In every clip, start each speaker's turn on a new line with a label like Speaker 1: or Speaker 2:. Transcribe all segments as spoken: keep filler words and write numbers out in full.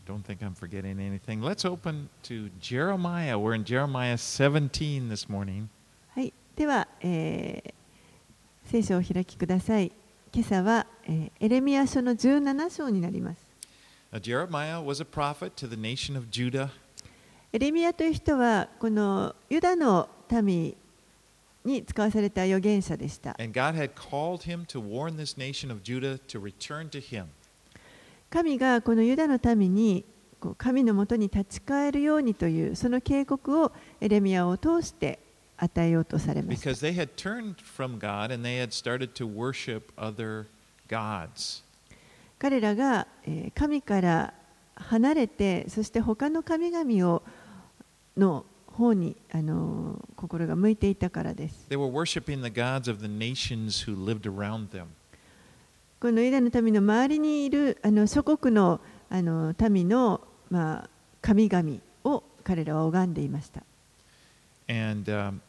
Speaker 1: don't think I'm forgetting anything. Let's open to Jeremiah. We're in Jeremiah seventeen this morning.
Speaker 2: はい、では、えー、聖書をお開きください。今朝は、えー、エレミヤ書のじゅうなな章になります。
Speaker 1: Now, Jeremiah was a prophet to the nation of Judah.
Speaker 2: エレミヤという人はこのユダの民に使わされた預言者でした。
Speaker 1: And God had called him to warn this nation of Judah to return to him.
Speaker 2: 神がこのユダの民にこう神のもとに立ち返るようにというその警告をエレミヤを通して与えようとされました。
Speaker 1: Because they had turned from God and they had started to worship other gods.
Speaker 2: 彼らが神から離れて、そして他の神々をの方にあの心が向いていたからです。
Speaker 1: They were worshiping the gods of the nations who lived around them.
Speaker 2: このユダの民の周りにいるあの諸国のあの民の、まあ、神々を彼らは拝んでいました。
Speaker 1: And, um,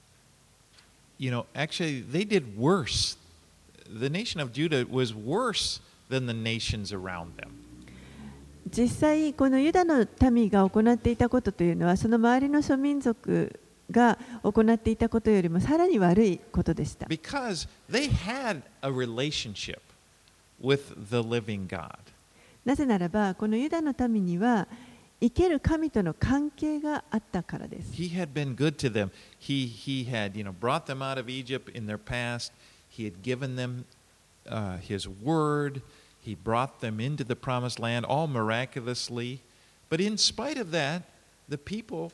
Speaker 1: you know, actually, they did worse. The nation of Judah was worse than the nations around them.
Speaker 2: 実際、このユダの民が行っていたことというのは、その周りの諸民族が行っていたことよりもさらに悪いことでした。
Speaker 1: Because they had a relationship with the living God.
Speaker 2: なぜならば、このユダの民には生ける神との関係があったからです。
Speaker 1: He had been good to them. He, he had, you know, brought them out of Egypt in their past. He had given them uh, his word. He brought them into the promised land, all miraculously. But in spite of that, the people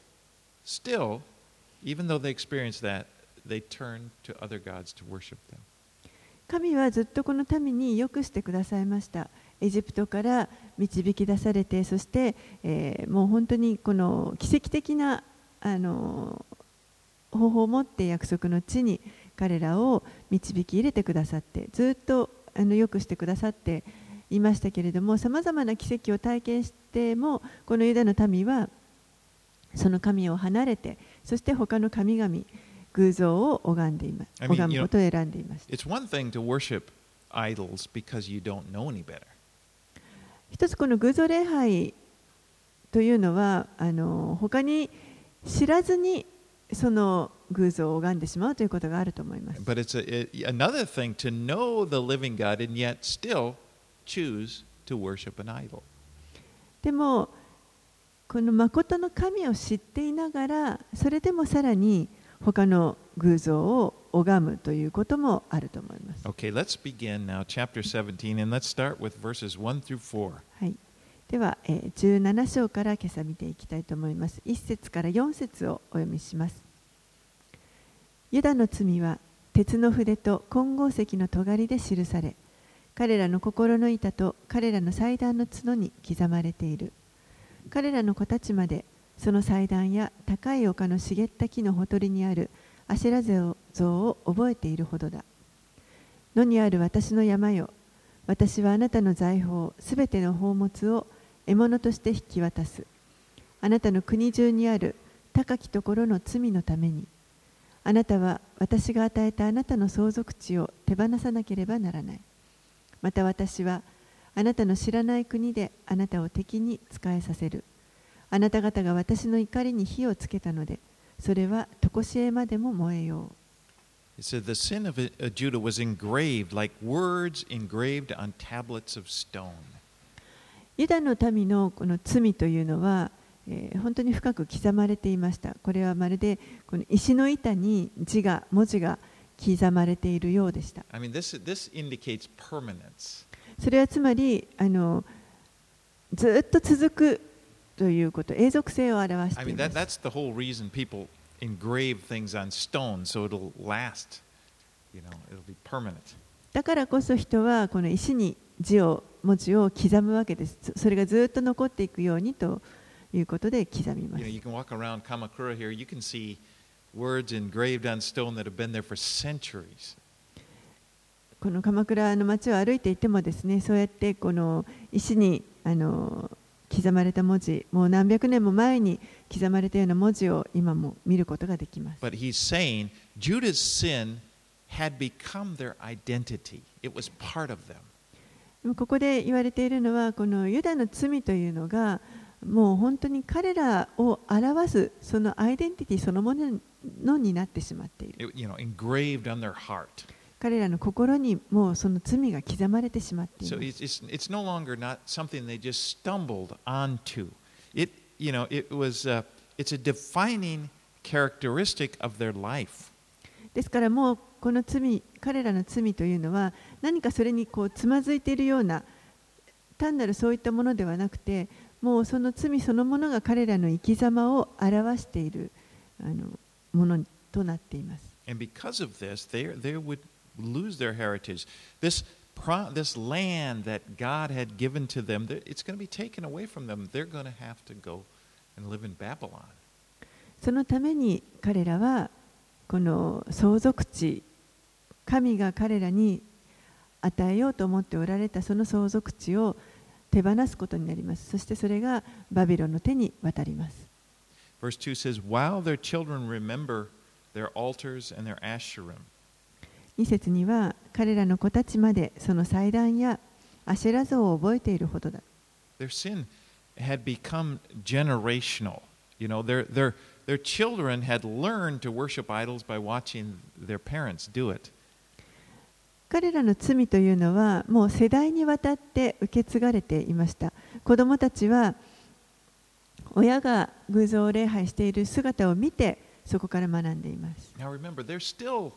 Speaker 1: still, even though they experienced that, they turned to other gods to worship them.
Speaker 2: 神はずっとこの民によくしてくださいました。エジプトから導き出されて、そして、えー、もう本当にこの奇跡的なあの方法を持って約束の地に彼らを導き入れてくださって、ずっとあのよくしてくださっていましたけれども、さまざまな奇跡を体験しても、このユダの民はその神を離れて、そして他の神々、偶像を拝んでいます。拝むことを選んでいました。
Speaker 1: It's one thing to worship idols because you don't know any better.
Speaker 2: 一つこの偶像礼拝というのは、あの他に知らずにその偶像を拝んでしまうということがあると思います。
Speaker 1: But it's a, it, another thing to know the living God and yet still choose to worship an idol.
Speaker 2: でもこの誠の神を知っていながら、それでもさらに他の偶像を拝むということもあると思います。
Speaker 1: Okay, let's begin now, chapter seventeen, and let's start with verses one through four.
Speaker 2: はい。では、えー、じゅうなな章から今朝見ていきたいと思います。いち節からよん節をお読みします。ユダの罪は鉄の筆と金剛石の尖りで記され、彼らの心の板と彼らの祭壇の角に刻まれている。彼らの子たちまでその祭壇や高い丘の茂った木のほとりにあるアシェラ像を覚えているほどだ。野にある私の山よ、私はあなたの財宝すべての宝物を獲物として引き渡す。あなたの国中にある高きところの罪のために、あなたは私が与えたあなたの相続地を手放さなければならない。また私はあなたの知らない国であなたを敵に仕えさせる。あなた方が私の怒りに火をつけたので、それはとこしえまでも燃えよう。
Speaker 1: It said the sin of Judah was engraved like words engraved on tablets of stone.
Speaker 2: ユダの民のこの罪というのは、えー、本当に深く刻まれていました。これはまるでこの石の板に字が文字が刻まれているようでした。
Speaker 1: I mean, this, this indicates permanence.
Speaker 2: それはつまりあのずっと続くということ、永続性を表してい
Speaker 1: I mean,
Speaker 2: ま
Speaker 1: that,
Speaker 2: す。
Speaker 1: that's the whole reason people engrave things on stone, so it'll last, you know, it'll be permanent.
Speaker 2: だからこそ人はこの石に字を文字を刻むわけです。それがずっと残っていくようにということで刻みま
Speaker 1: You know,
Speaker 2: す。
Speaker 1: you can walk around Kamakura here, you can see words engraved on stone that have been there for centuries.
Speaker 2: この鎌倉の町を歩いていてもですね、そうやってこの石にあの刻まれた文字、もう何百年も前に刻まれたような文字を今も見ることができます。
Speaker 1: But he's saying Judah's sin had become their identity. It was part of them.
Speaker 2: ここで言われているのは、このユダの罪というのが、もう本当に彼らを表すそのアイデンティティそのものになってしまっている。
Speaker 1: It, you know, engraved on their heart.
Speaker 2: 彼らの心にもうその罪が刻まれてしまってい
Speaker 1: So
Speaker 2: ま
Speaker 1: it's,
Speaker 2: す。
Speaker 1: it's, it's no longer not something they just stumbled onto. It, you know, it was, uh, it's a defining characteristic of their life.
Speaker 2: ですからもうこの罪、彼らの罪というのは何かそれにこうつまずいているような単なるそういったものではなくて、もうその罪そのものが彼らの生き様を表しているあのものとなっています。
Speaker 1: And because of this, they, they would lose their heritage. This, pro, this land that God had given to them, it's going to be taken away from them. They're going to have to go and live in Babylon.
Speaker 2: そのために彼らはこの相続地、神が彼らに与えようと思っておられたその相続地を手放すことになります。そしてそれがバビロンの手に渡ります。
Speaker 1: Verse two says, While their children remember their altars and their Asherim.
Speaker 2: に節には彼らの子たちまでその祭壇やアシェラ像を覚えているほどだ。
Speaker 1: Their sin had become generational. You know, their, their, their children had learned to worship idols by watching their parents do it.
Speaker 2: 彼らの罪というのはもう世代にわたって受け継がれていました。子供たちは親が偶像を礼拝している姿を見てそこから学んでいます。
Speaker 1: Now remember, they're still,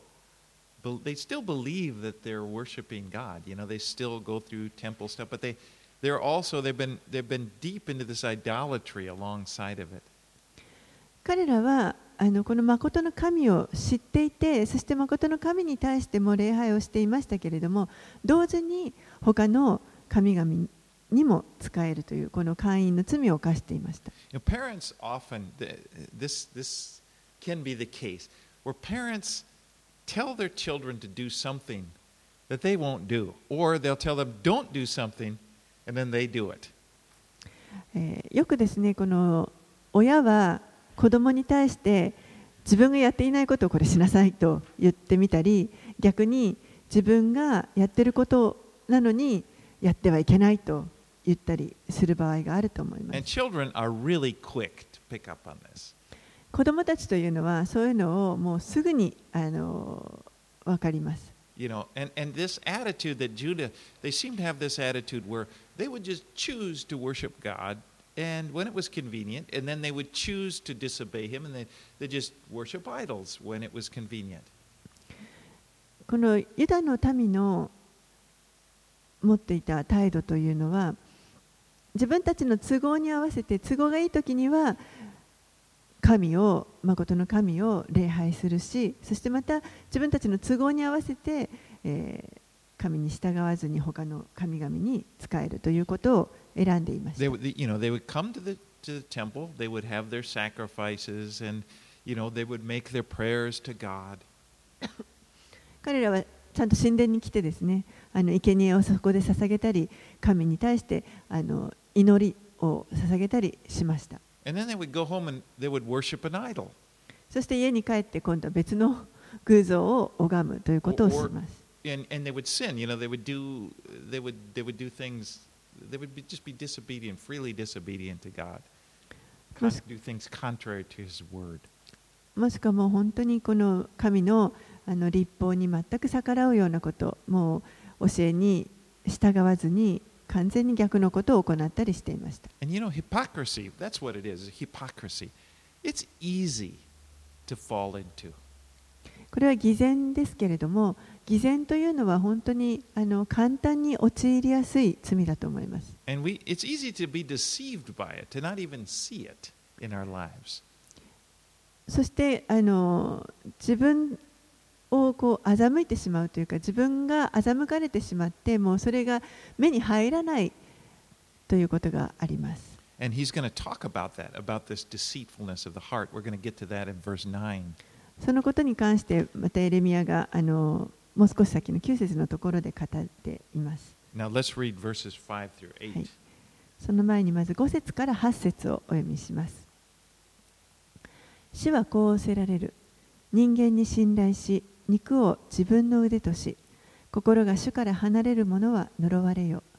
Speaker 1: they still believe that they're worshiping God. You know, they still go through temple stuff, but they, they're also, they've been, they've been deep into this idolatry alongside of it.
Speaker 2: 彼らはあのこの誠の神を知っていて、そして誠の神に対しても礼拝をしていましたけれども、同時に他の神々にも仕えるというこの会員の罪を犯していました。
Speaker 1: You know, parents often, this, this can be the case, where parents tell their children to do something that they won't do, or they'll tell them don't do something, and then they do it.
Speaker 2: えーよくですね、この親は子供に対して自分がやっていないことをこれしなさいと言ってみたり、逆に自分がやっていることなのにやってはいけないと言ったりする場合があると思いま
Speaker 1: And
Speaker 2: す。
Speaker 1: children are really quick to pick up on this.
Speaker 2: 子供たちというのはそういうのをもうすぐにあの分かります。
Speaker 1: You know, and, and this attitude that Judah, they seem to have this attitude where they would just choose to worship God, and when it was convenient, and then they would choose to disobey Him, and they they just worship idols when it was convenient.
Speaker 2: このユダの民の持っていた態度というのは、自分たちの都合に合わせて都合がいいときには神を、誠の神を礼拝するし、そしてまた自分たちの都合に合わせて、えー、神に従わずに他の神々に仕えるということを選んでいました。
Speaker 1: They would, you know, they would come to the to the temple, they would have their sacrifices, and you know, they would make their prayers to God.
Speaker 2: 彼らはちゃんと神殿に来てですね、あの生贄をそこで捧げたり、神に対してあの祈りを捧げたりしました。
Speaker 1: And then they would go home and they would worship an idol.
Speaker 2: そして家に帰って今度は別の偶像を拝むということをします。
Speaker 1: And, and they would sin, you know, they would do, they would, they would do things, they would be, just be disobedient, freely disobedient to God. Con- do things contrary to His word.
Speaker 2: もしくはもう本当にこの神のあの律法に全く逆らうようなこと、もう教えに従わずに完全に逆のことを行ったりしていました。
Speaker 1: And you know, hypocrisy, that's what it is, hypocrisy. It's easy to fall into.
Speaker 2: これは偽善ですけれども、偽善というのは本当にあの簡単に陥りやすい罪だと思います。
Speaker 1: And we, it's easy to be deceived by it, to not even see it in our lives.
Speaker 2: そしてあの自分をこう欺いてしまうというか、自分が欺かれてしまって、もうそれが目に入らないということがあります。
Speaker 1: And he's going to talk about that, about this deceitfulness of the heart. We're going to get to that in verse nine.
Speaker 2: そのことに関してまたエレミヤがあのもう少し先のきゅう節のところで語っています。
Speaker 1: Now let's read verses five through eight.
Speaker 2: はい、その前にまずご節からはち節をお読みします。主はこう仰せられる。人間に信頼し、肉を自分の腕とし、心が主から離れる者は呪われよ。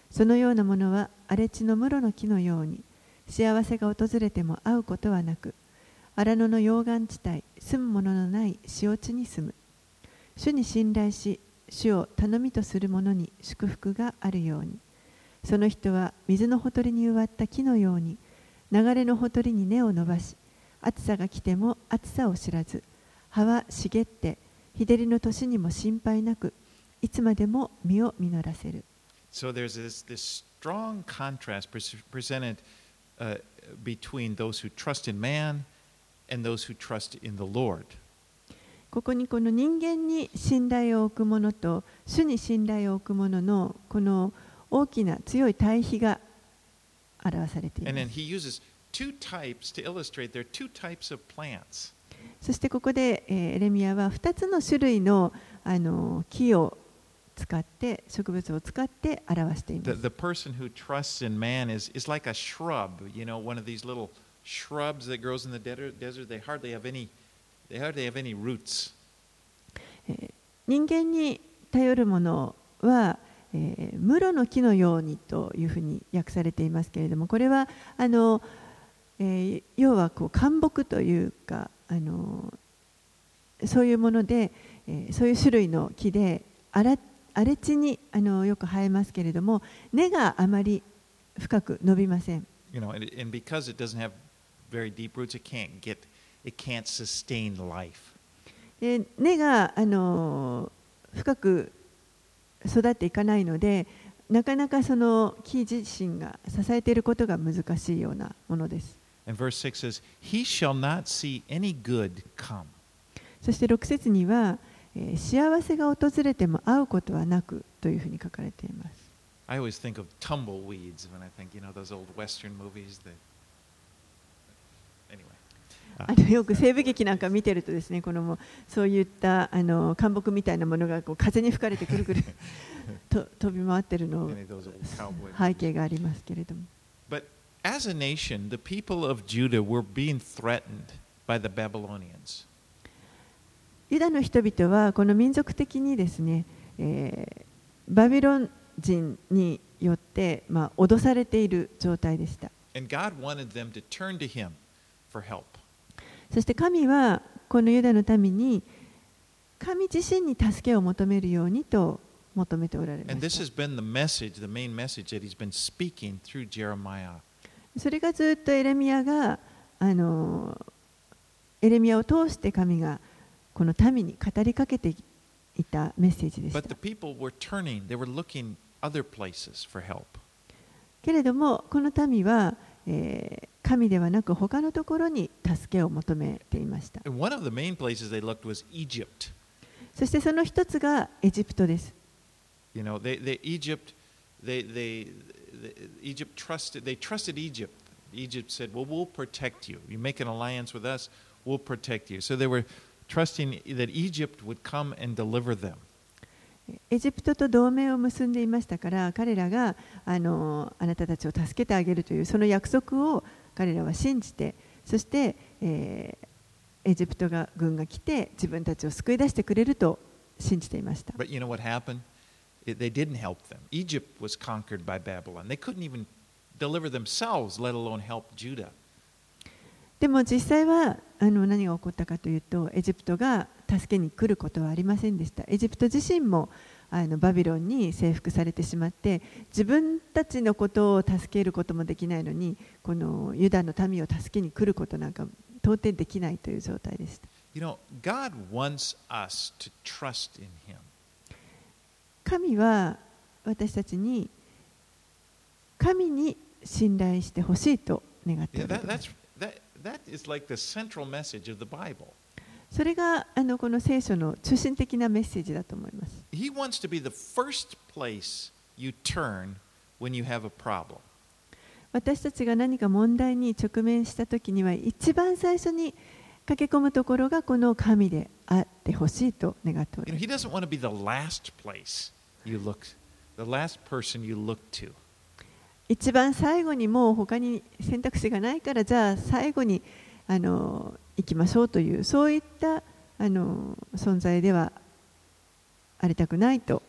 Speaker 2: そのようなものは荒れ地の室の木のように、幸せが訪れても会うことはなく、荒野の溶岩地帯、住むもののない塩地に住む。主に信頼し、主を頼みとする者に祝福があるように。その人は水のほとりに植わった木のように、流れのほとりに根を伸ばし、暑さが来ても暑さを知らず、葉は茂って、日照りの年にも心配なく、いつまでも実を実らせる。
Speaker 1: So there's this, this strong contrast presented uh, between those who trust in man and those who trust in the Lord.
Speaker 2: ここにこの人間に信頼を置く者と主に信頼を置く者のこの大きな強い対比が表されています。
Speaker 1: And then he uses two types to illustrate there are two types of plants.
Speaker 2: そしてここで、えー、エレミヤはふたつの種類の、あの木を使って植物を使って表しています。
Speaker 1: The, the person who trusts in man is, is like a shrub, you know, one of these little shrubs that grows in the desert. They hardly have any, they hardly have any roots.
Speaker 2: 人間に頼るものは、えー、室の木のようにというふうに訳されていますけれども、これはあの、えー、要はこう灌木というか、あのそういうもので、えー、そういう種類の木で荒れ地にあのよく生えますけれども、根があまり深く伸びません。
Speaker 1: You know, and, and because it doesn't have very deep roots, it can't get, it can't sustain life.
Speaker 2: で根があの深く育っていかないので、なかなかその木自身が支えていることが難しいようなものです。
Speaker 1: And verse six says, He shall not see any good come.
Speaker 2: そしてろく節には、えー、幸せが訪れても会うことはなくというふうに書かれています。
Speaker 1: I always think of tumbleweeds when I think, you know, those old Western movies that. Anyway.
Speaker 2: あのよく西部劇なんか見てるとですね、このもうそういったあの灌木みたいなものがこう風に吹かれてくるくると飛び回ってるの背景がありますけれども。
Speaker 1: But as a nation, the people of Judah were being threatened by the Babylonians.
Speaker 2: ユダの人々はこの民族的にですね、えー、バビロン人によって、まあ、脅されている状態でした。
Speaker 1: And God wanted them to turn to Him for help.
Speaker 2: そして神はこのユダの民に神自身に助けを求めるようにと求めておられました。
Speaker 1: And this has been the message, the main message that He's been speaking through Jeremiah.
Speaker 2: それがずっとエレミヤがあのエレミヤを通して神がこの民に語りかけていたメッセージでした。
Speaker 1: But the people were turning, they were looking other places for help.
Speaker 2: けれどもこの民は、えー、神ではなく他のところに助けを求めていました。
Speaker 1: And one of the main places they looked was Egypt.
Speaker 2: そしてその一つがエジプトです。
Speaker 1: You know, they, they Egypt, they, they, they, Egypt trusted, they trusted Egypt. Egypt said, "Well, we'll protect you. You make an alliance with us, we'll protect you." So they were trusting that Egypt would come and deliver them.
Speaker 2: エジプトと同盟を結んでいましたから、彼らがあのあなたたちを助けてあげるというその約束を彼らは信じて、そして、えー、エジプトが軍が来て自分たちを救い出してくれると信じていました。
Speaker 1: But you know what happened? They didn't help them. Egypt was conquered by Babylon. They couldn't even deliver themselves, let alone help Judah.
Speaker 2: でも実際はあの何が起こったかというと、エジプトが助けに来ることはありませんでした。エジプト自身もあのバビロンに征服されてしまって、自分たちのことを助けることもできないのに、このユダの民を助けに来ることなんか到底できないという状態でした。
Speaker 1: You know, God wants us to trust in Him.
Speaker 2: 神は私たちに神に信頼してほしいと願っておられます。
Speaker 1: That is like the central message of the Bible.
Speaker 2: それがあのこの聖書の中心的なメッセージだと思います。
Speaker 1: He wants to be the first place you turn when you have a problem.
Speaker 2: 私たちが何か問題に直面したときには、一番最初に駆け込むところがこの神であってほしいと願っております。
Speaker 1: You know, He doesn't want to be the last place you look, the last person you look to.
Speaker 2: 一番最後にもう他に選択肢がないから、じゃあ最後にあの行きましょうという、そういったあの存在ではありたくないと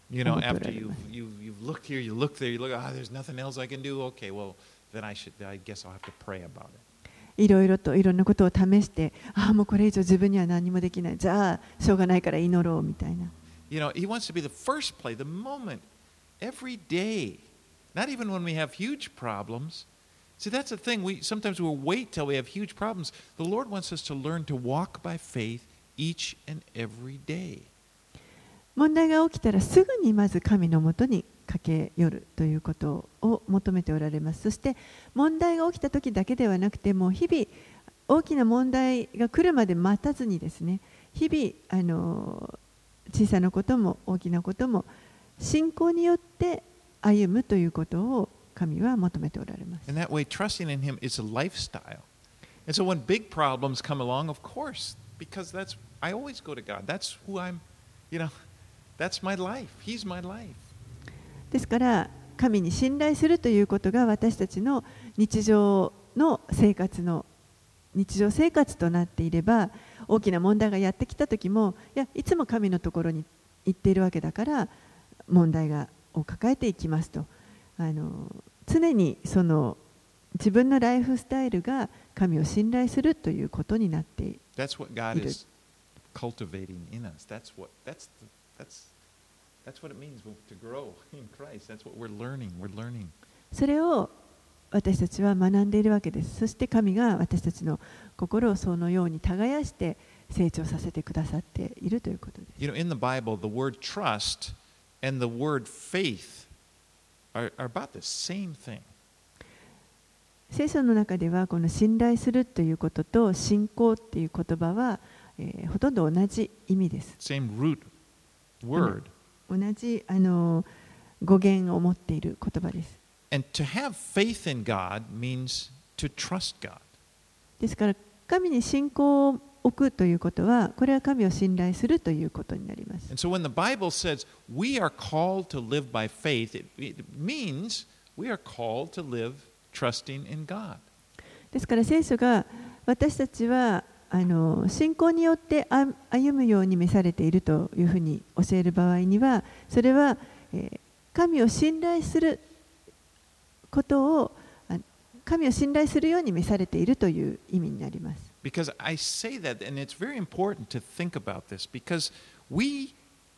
Speaker 1: You
Speaker 2: 思
Speaker 1: know,
Speaker 2: っておら
Speaker 1: after
Speaker 2: れ
Speaker 1: you've,
Speaker 2: ます。
Speaker 1: you've, you've looked here, you look there, you look, ah, there's nothing else I can do. Okay, well, then I should, I guess I'll have to pray about it.
Speaker 2: いろいろといろんなことを試して、ああ、もうこれ以上自分には何もできない。じゃあ、しょうがないから祈ろうみたいな。
Speaker 1: You know, he wants to be the first play, the moment, every day. Not even when we have huge problems. See, that's the thing. We sometimes we'll wait till we have huge problems. The Lord wants us to learn to walk by faith each and every day.
Speaker 2: 問題が起きたらすぐにまず神のもとに駆け寄るということを求めておられます。そして問題が起きた時だけではなくて、もう日々大きな問題が来るまで待たずにですね、日々あの小さなことも大きなことも信仰によって歩むということを神は求めておられます。
Speaker 1: And that way, trusting in Him is a lifestyle. And so when big problems come along, of course, because that's I always go to God. That's who I'm, you know, that's my life. He's my life.
Speaker 2: ですから神に信頼するということが私たちの日常の生活の日常生活となっていれば、大きな問題がやってきた時も、いやいつも神のところに行っているわけだから問題がを抱えていきますと、あの常にその自分のライフスタイルが神を信頼するということになっている。
Speaker 1: That's what God is cultivating in us. That's what that's the, that's that's what it means to grow in Christ. That's what we're learning. We're learning.
Speaker 2: それを私たちは学んでいるわけです。そして神が私たちの心をそのように耕して成長させてくださっているということです。
Speaker 1: You know, in the Bible, the word trust and the word faith are, are about the same thing.
Speaker 2: 聖書の中ではこの信頼するということと信仰っていう言葉は、えー、ほとんど同じ意味です。
Speaker 1: Same root word.
Speaker 2: 同じあの語源を持っている言葉です。
Speaker 1: And to have faith in God means to trust God.
Speaker 2: ですから神に信仰を置くということは、これは神を信頼するということになります。
Speaker 1: And so when the Bible says we are called to live by faith, it, it means we are called to live trusting in God.
Speaker 2: ですから聖書が私たちはあの信仰によって歩むように召されているというふうに教える場合には、それは、えー、神を信頼することを神を信頼するように召されているという意味になります。
Speaker 1: Because I say that, and it's very important to think about this, because we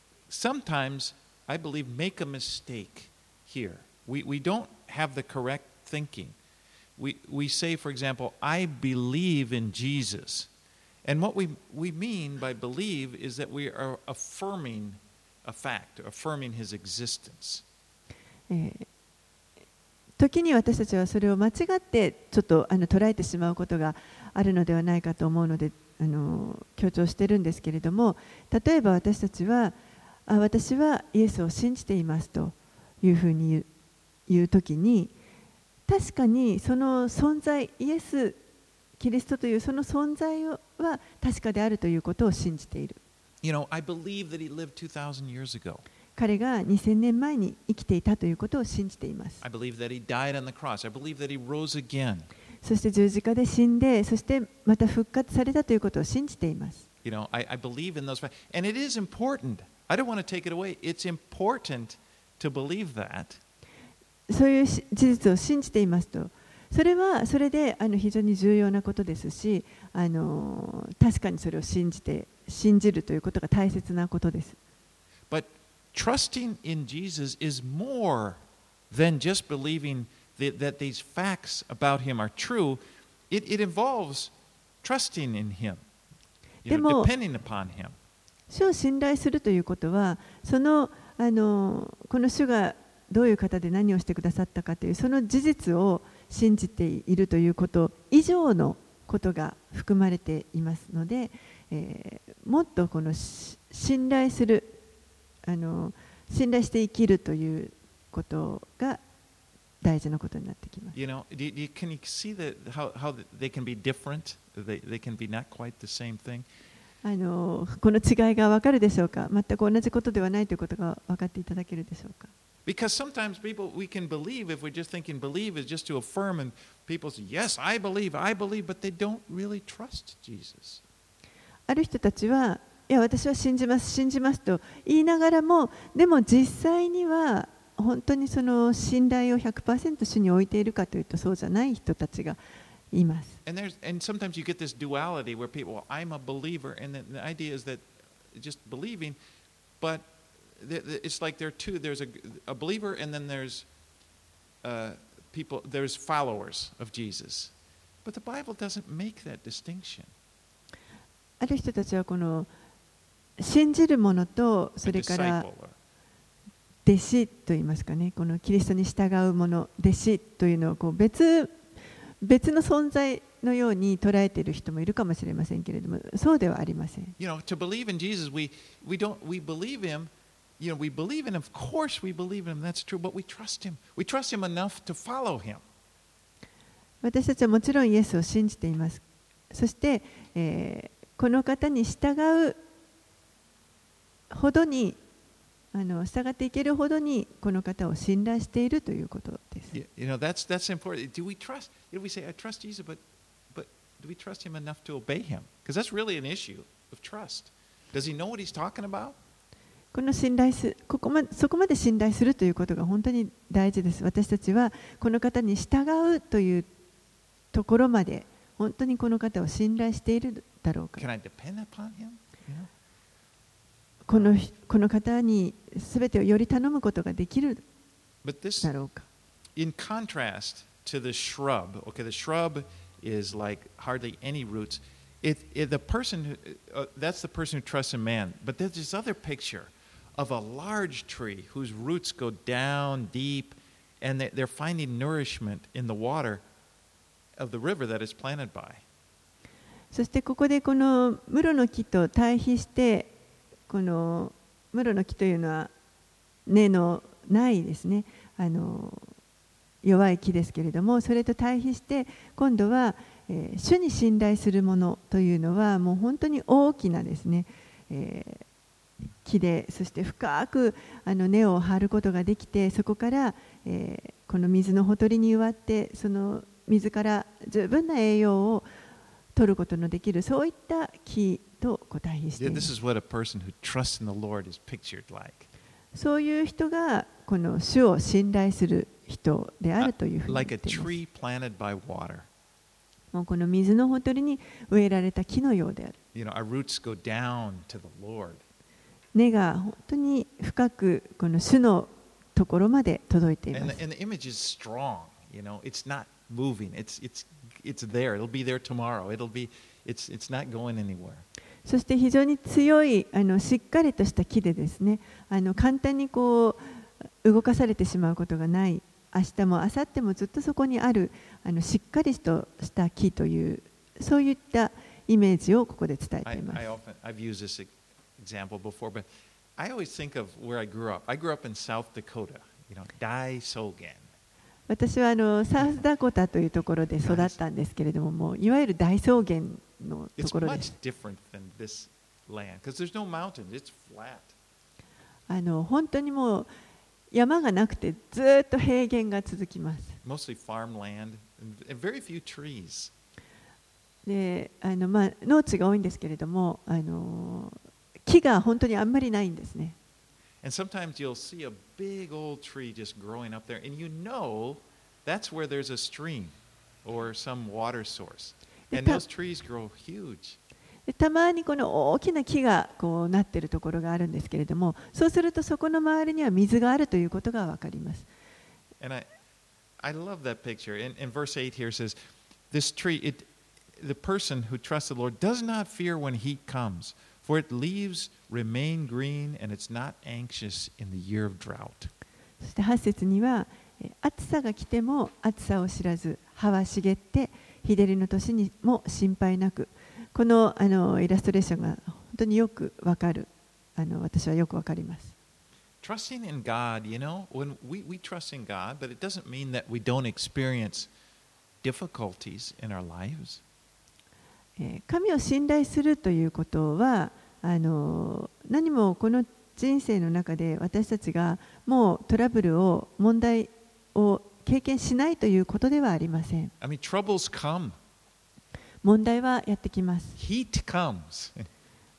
Speaker 1: sometimes, I believe, make a mistake here. We, we don't have the correct thinking. We, we say, for example, I believe in Jesus. And what we, we mean by believe is that we are affirming a fact, affirming his existence.
Speaker 2: えー時に私たちはそれを間違ってちょっとあの捉えてしまうことがあるのではないかと思うので、あの強調しているんですけれども、例えば私たちはあ私はイエスを信じていますというふうに言う、言う時に、確かにその存在、イエス・キリストというその存在は確かであるということを信じている。
Speaker 1: You know, I believe that he lived two thousand years ago.
Speaker 2: 彼がにせんねんまえに生きていたということを信じています。
Speaker 1: I believe that he died on the cross. I believe that he rose again.
Speaker 2: そして十字架で死んで、そしてまた復活されたということを信じています。
Speaker 1: You know, I, I believe in those facts. And it is important. I don't want to take it away. It's important to believe that.
Speaker 2: そういう事実を信じていますと、それはそれであの非常に重要なことですし、あの確かにそれを信じて、信じるということが大切なことです。
Speaker 1: But trusting in Jesus is more than just believing that, that these facts about him are true. It, it involves trusting in him, you know, depending upon him.
Speaker 2: 主を信頼するということは、そのあのこの主がどういう方で何をしてくださったかというその事実を信じているということ以上のことが含まれていますので、えー、もっとこの信頼するあの信頼して生きるということが大事なことになってきます。
Speaker 1: You know, do you, can you see that how, how they can be different? They, they can be not quite the same thing.
Speaker 2: あのこの違いが分かるでしょうか。全く同じことではないということが分かっていただけるでしょうか。
Speaker 1: Because sometimes people, we can believe, if we're just thinking believe is just to affirm, and people say, yes, I believe, I believe, but they don't really trust Jesus.
Speaker 2: ある人たちはいや私は信じます信じますと言いながらも、でも実際には本当にその信頼を ひゃくパーセント 主に置いているかというとそうじゃない人たちがいます。
Speaker 1: And there's and sometimes you get this duality where people, well, I'm a believer, and the, the idea is that just believing, but the, the, it's like there are two. There's a, a believer, and then there's uh, people. There's followers of Jesus, but the Bible doesn't make that distinction.
Speaker 2: ある人たちはこの信じる者とそ
Speaker 1: A
Speaker 2: れから
Speaker 1: disciple, or-
Speaker 2: 弟子といいますかね、このキリストに従う者、弟子というのをこう別別の存在のように捉えている人もいるかもしれませんけれども、そうではありません。
Speaker 1: You know, to believe in Jesus, we we don't we believe him. You know, we believe in him. Of course, we believe in him. That's true. But we trust him. We trust him enough to follow him.
Speaker 2: 私たちはもちろんイエスを信じています。そして、えーこの方に従うほどに、あの従っていけるほどにこの方を信頼しているということです。
Speaker 1: You, you know, that's that's important. Do we trust? You know, we say, I trust Jesus, but but do we trust him enough to obey him? Because that's really an issue of trust. Does he know what he's talking about?
Speaker 2: この信頼すここまそこまで信頼するということが本当に大事です。私たちはこの方に従うというところまで本当にこの方を信頼しているだろうか。
Speaker 1: Can I depend upon him? You know?
Speaker 2: このこの方に全てをより頼むことができる
Speaker 1: But this,
Speaker 2: だろうか。
Speaker 1: in contrast to the shrub, okay, the shrub is like hardly any roots. It, it, the person, who, uh, that's the person who trusts in man. But there's this other picture of a large tree whose roots go down deep, and they, they're finding nourishment in the water of the river that is planted by.
Speaker 2: そしてここでこのムロの木と対比して、このムロの木というのは根のないですね、あの弱い木ですけれども、それと対比して今度は、えー、主に信頼するものというのはもう本当に大きなですね、えー、木で、そして深くあの根を張ることができて、そこから、えー、この水のほとりに植わって、その水から十分な栄養を取ることのできる、そういった木と対比しています。そういう人がこの主を信頼する人であるというふうに言っています。もうこの水のほとりに植えられた木のようである。
Speaker 1: You know, our roots go down to the Lord.
Speaker 2: 根が本当に深くこの主のところまで届いています。
Speaker 1: And the, and the image is strong. You know, it's not moving. It's it's it's there. It'll be there tomorrow. It'll be it's it's not going anywhere.
Speaker 2: そして非常に強いあのしっかりとした木でですね、あの簡単にこう動かされてしまうことがない。明日も明後日もずっとそこにあるあのしっかりとした木というそういったイメージをここで伝えています。
Speaker 1: I, I often, I've used this example before, but I always think of where I grew up. I grew up in South Dakota, you know, 大草原。
Speaker 2: 私はあのサウスダコタというところで育ったんですけれども、もういわゆる大草原のところです。
Speaker 1: It's much different than this land because there's no mountains. It's flat.
Speaker 2: あの本当にもう山がなくてずっと平原が続きます。
Speaker 1: Mostly farmland and very few trees.
Speaker 2: で、あのまあ農地が多いんですけれども、あの木が本当にあんまりないんですね。
Speaker 1: And sometimes you'll see a big old tree just growing up there, and you know that's where there's a stream or some water source. And those trees grow huge.
Speaker 2: でたまにこの大きな木がこうなっているところがあるんですけれども、そうするとそこの周りには水があるということがわかります。
Speaker 1: And I, I love that picture. In, in verse eight here says, this tree, it, the person who trusts the Lord does not fear when heat comes, for its leaves remain green and it's not anxious in the year of drought.
Speaker 2: そしてはち節には、暑さが来ても暑さを知らず、葉は茂って、日照りの年にも心配なく。この、あのイラストレーションが本当によくわかる。あの私はよくわかります。
Speaker 1: Trusting in God, you know, when we, we trust in God, but it doesn't mean that we don't experience difficulties in our lives.
Speaker 2: 神を信頼するということは、あの何もこの人生の中で私たちがもうトラブルを、問題を経験しないということではありません。
Speaker 1: I mean, troubles come.
Speaker 2: 問題はやってきます。
Speaker 1: Heat comes.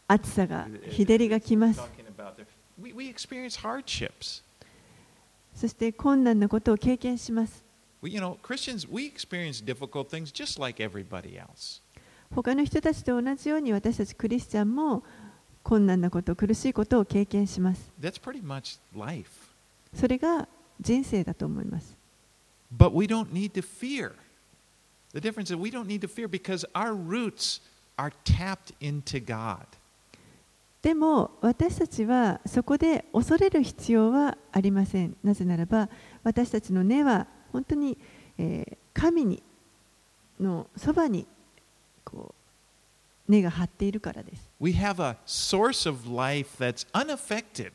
Speaker 2: 暑さが、日照りが来ます。
Speaker 1: talking about there. We, we experience hardships.
Speaker 2: そして困難なことを経験します。
Speaker 1: We, you know, Christians, we experience difficult things just like everybody else.
Speaker 2: 他の人たちと同じように私たちクリスチャンも困難なこと、苦しいことを経験します。
Speaker 1: That's pretty much life.
Speaker 2: それが人生だと思います。
Speaker 1: But we don't need to fear. The difference is we don't need to fear because our roots are tapped into God.
Speaker 2: でも私たちはそこで恐れる必要はありません。なぜならば私たちの根は本当に、えー、神にのそばにこう根が張っているからです。
Speaker 1: We have a source of life that's unaffected.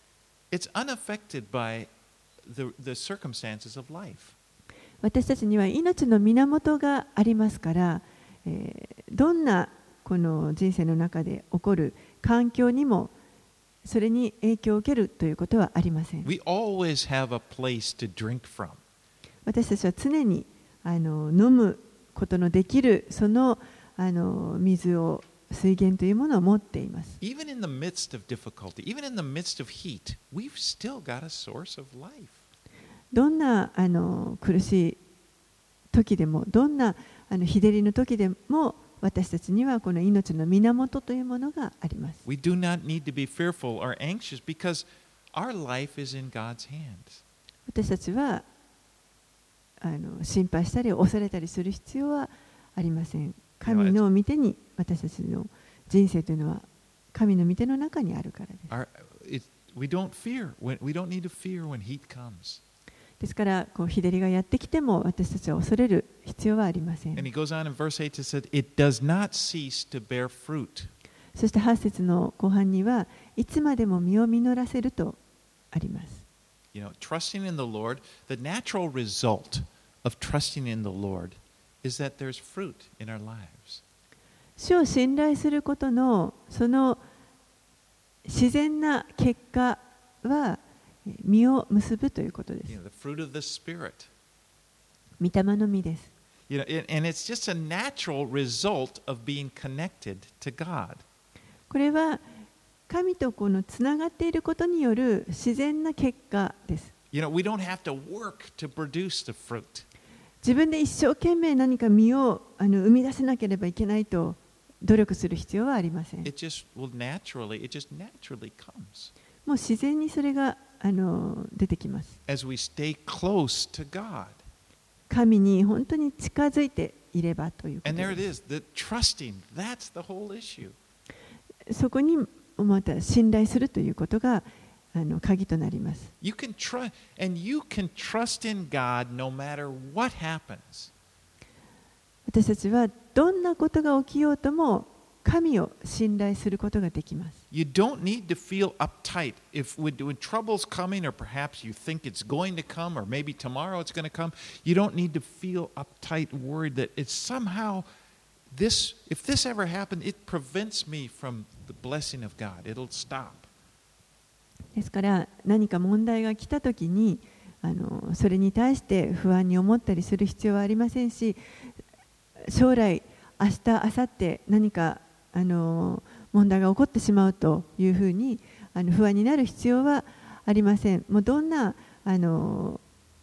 Speaker 1: It's unaffected by the, the circumstances of life.
Speaker 2: 私たちには命の源がありますから、えー、どんなこの人生の中で起こる環境にもそれに影響を受けるということはありません。
Speaker 1: We always have a place to drink from.
Speaker 2: 私たちは常にあの飲むことのできるその、あの水を水源というものを持っています。
Speaker 1: Even in the midst of difficulty, even in the midst of heat, we've still got a source of life.
Speaker 2: どんなあの苦しい時でも、どんなあの日照りの時でも、私たちにはこの命の源というものがあります。
Speaker 1: We do not need to be fearful or anxious because our life is in God's hands.
Speaker 2: 私たちはあの心配したり恐れたりする必要はありません。神の御手に私たちの人生というのは神の御手の中にあるからです。
Speaker 1: Our, it, we don't fear when, we don't need to fear when heat comes.
Speaker 2: ですからこう日照りがやってきても私たちは恐れる必要はありません。
Speaker 1: And he goes on in verse eight to say, it does not cease to bear fruit.
Speaker 2: そしてはち節の後半にはいつまでも実を実らせるとあります。
Speaker 1: You know, trusting in the Lord, the natural result of trusting in the Lord is that there's fruit in our lives.
Speaker 2: 主を信頼することのその自然な結果は実を結ぶということです。
Speaker 1: You know, the fruit of the Spirit.
Speaker 2: 御霊の実です。
Speaker 1: You know, and it's just a natural result of being connected to God.
Speaker 2: これは神とこのつながっていることによる自然な結果です。
Speaker 1: You know, we don't have to work to produce the fruit.
Speaker 2: 自分で一生懸命何か実をあの生み出せなければいけないと努力する必要はありません。
Speaker 1: It just will naturally, it just naturally comes
Speaker 2: もう自然にそれがあの出てきます。
Speaker 1: as we stay close to God.
Speaker 2: 神に本当に近づいていればというこ
Speaker 1: And
Speaker 2: と
Speaker 1: there
Speaker 2: で
Speaker 1: it
Speaker 2: す。
Speaker 1: is, the trusting, that's the whole issue.
Speaker 2: そこにまた信頼するということがあの鍵となります。
Speaker 1: You can trust, and you can trust in God no matter what happens.
Speaker 2: 私たちはどんなことが起きようとも神を信頼することができます。
Speaker 1: You don't need to feel uptight if when, when trouble's coming, or perhaps you think it's going to come, or maybe tomorrow it's going to come. You don't need to feel uptight, worried that it's somehow this. If this ever happened, it prevents me from the blessing of God. It'll stop.
Speaker 2: ですから何か問題が来たときにあのそれに対して不安に思ったりする必要はありませんし、将来明日明後日何かあの問題が起こってしまうというふうにあの不安になる必要はありません。もうどんなあの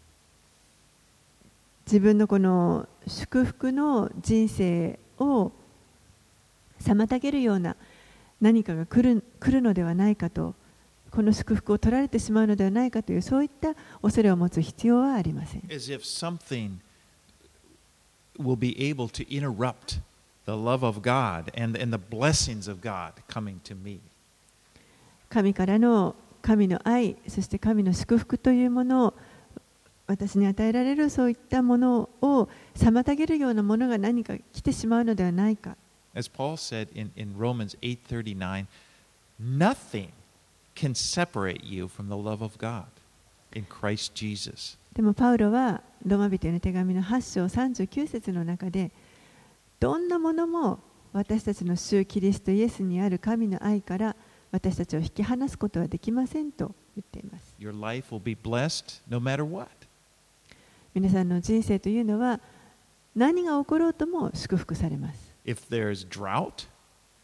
Speaker 2: 自分のこの祝福の人生を妨げるような何かが来る、来るのではないかと、この祝福を取られてしまうのではないかというそういった恐れを持つ必要はありません。
Speaker 1: As if something will be able to interrupt the love of God and, and the blessings of God coming to me.
Speaker 2: 神からの神の愛、そして神の祝福というものを私に与えられるそういったものを妨げるようなものが何か来てしまうのではないか。
Speaker 1: As Paul said in, in Romans eight thirty-nine, nothing can separate you from the love of God in Christ Jesus.
Speaker 2: でもパウロはローマ人への手紙のはち章さんじゅうきゅう節の中で、どんなものも私たちの主キリストイエスにある神の愛から私たちを引き離すことはできませんと言っています。
Speaker 1: Your life will be blessed no matter what.
Speaker 2: 皆さんの人生というのは何が起ころうとも祝福されます。
Speaker 1: If there's drought,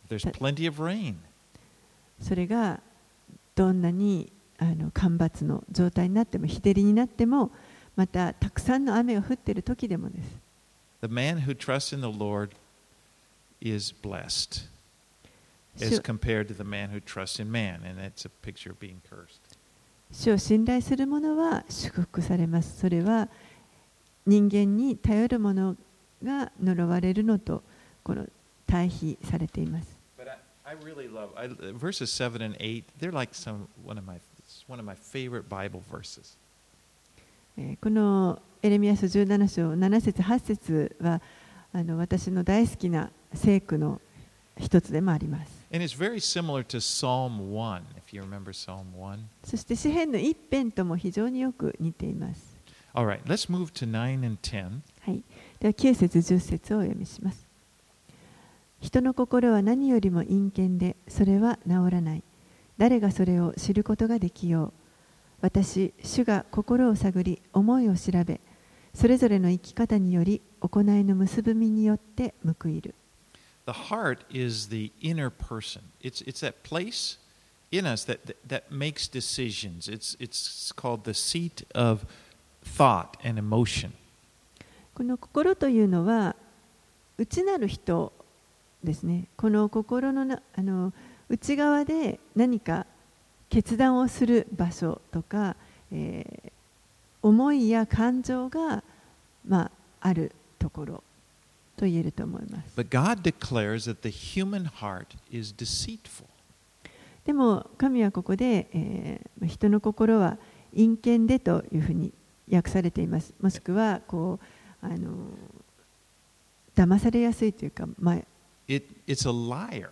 Speaker 1: There's plenty of rain.
Speaker 2: それがどんなにあの干ばつの状態になっても、日照りになっても、またたくさんの雨が降っている時でもです。
Speaker 1: The man who trusts in the Lord is blessed as compared to the man who trusts in man, and that's a picture of being cursed.
Speaker 2: 主を信頼する者は祝福されます。それは人間に頼る者が呪われるのとこの対比されています。
Speaker 1: But I, I really love I, verses seven and eight. They're like some one of my one of my favorite Bible verses.
Speaker 2: このエレミヤ書じゅうなな章なな節はち節はあの私の大好きな聖句の一つでもあります。
Speaker 1: And it's very similar to Psalm one, if you remember Psalm one.
Speaker 2: そして詩編の一編とも非常によく似ています。
Speaker 1: All right, let's move to nine and ten.
Speaker 2: はい。ではきゅう節じゅっ節をお読みします。人の心は何よりも陰険で、それは治らない。誰がそれを知ることができよう。私、主が心を探り、思いを調べ、それぞれの生き方により、行いの結ぶみによって報いる。
Speaker 1: The heart is the inner person. It's, it's that place in us that, that, that makes decisions. It's, it's called the seat of thought and emotion.
Speaker 2: この心というのは、内なる人ですね。この心のなあの内側で何か決断をする場所とか、えー、思いや感情が、まあ、あるところと言えると思います。
Speaker 1: But God declares that the human heart is deceitful.
Speaker 2: でも神はここで、えー、人の心は陰険でというふうに訳されています。もしくはこうあの騙されやすいというか、まあ、
Speaker 1: It, it's a liar.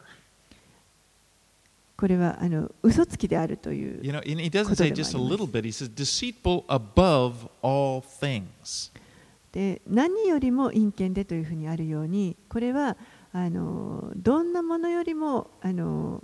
Speaker 2: これはあの嘘つきであるという。
Speaker 1: You know, and he doesn't say just a little bit. He says deceitful above all things.
Speaker 2: で何よりも陰険でというふうにあるように、これはあのどんなものよりもあの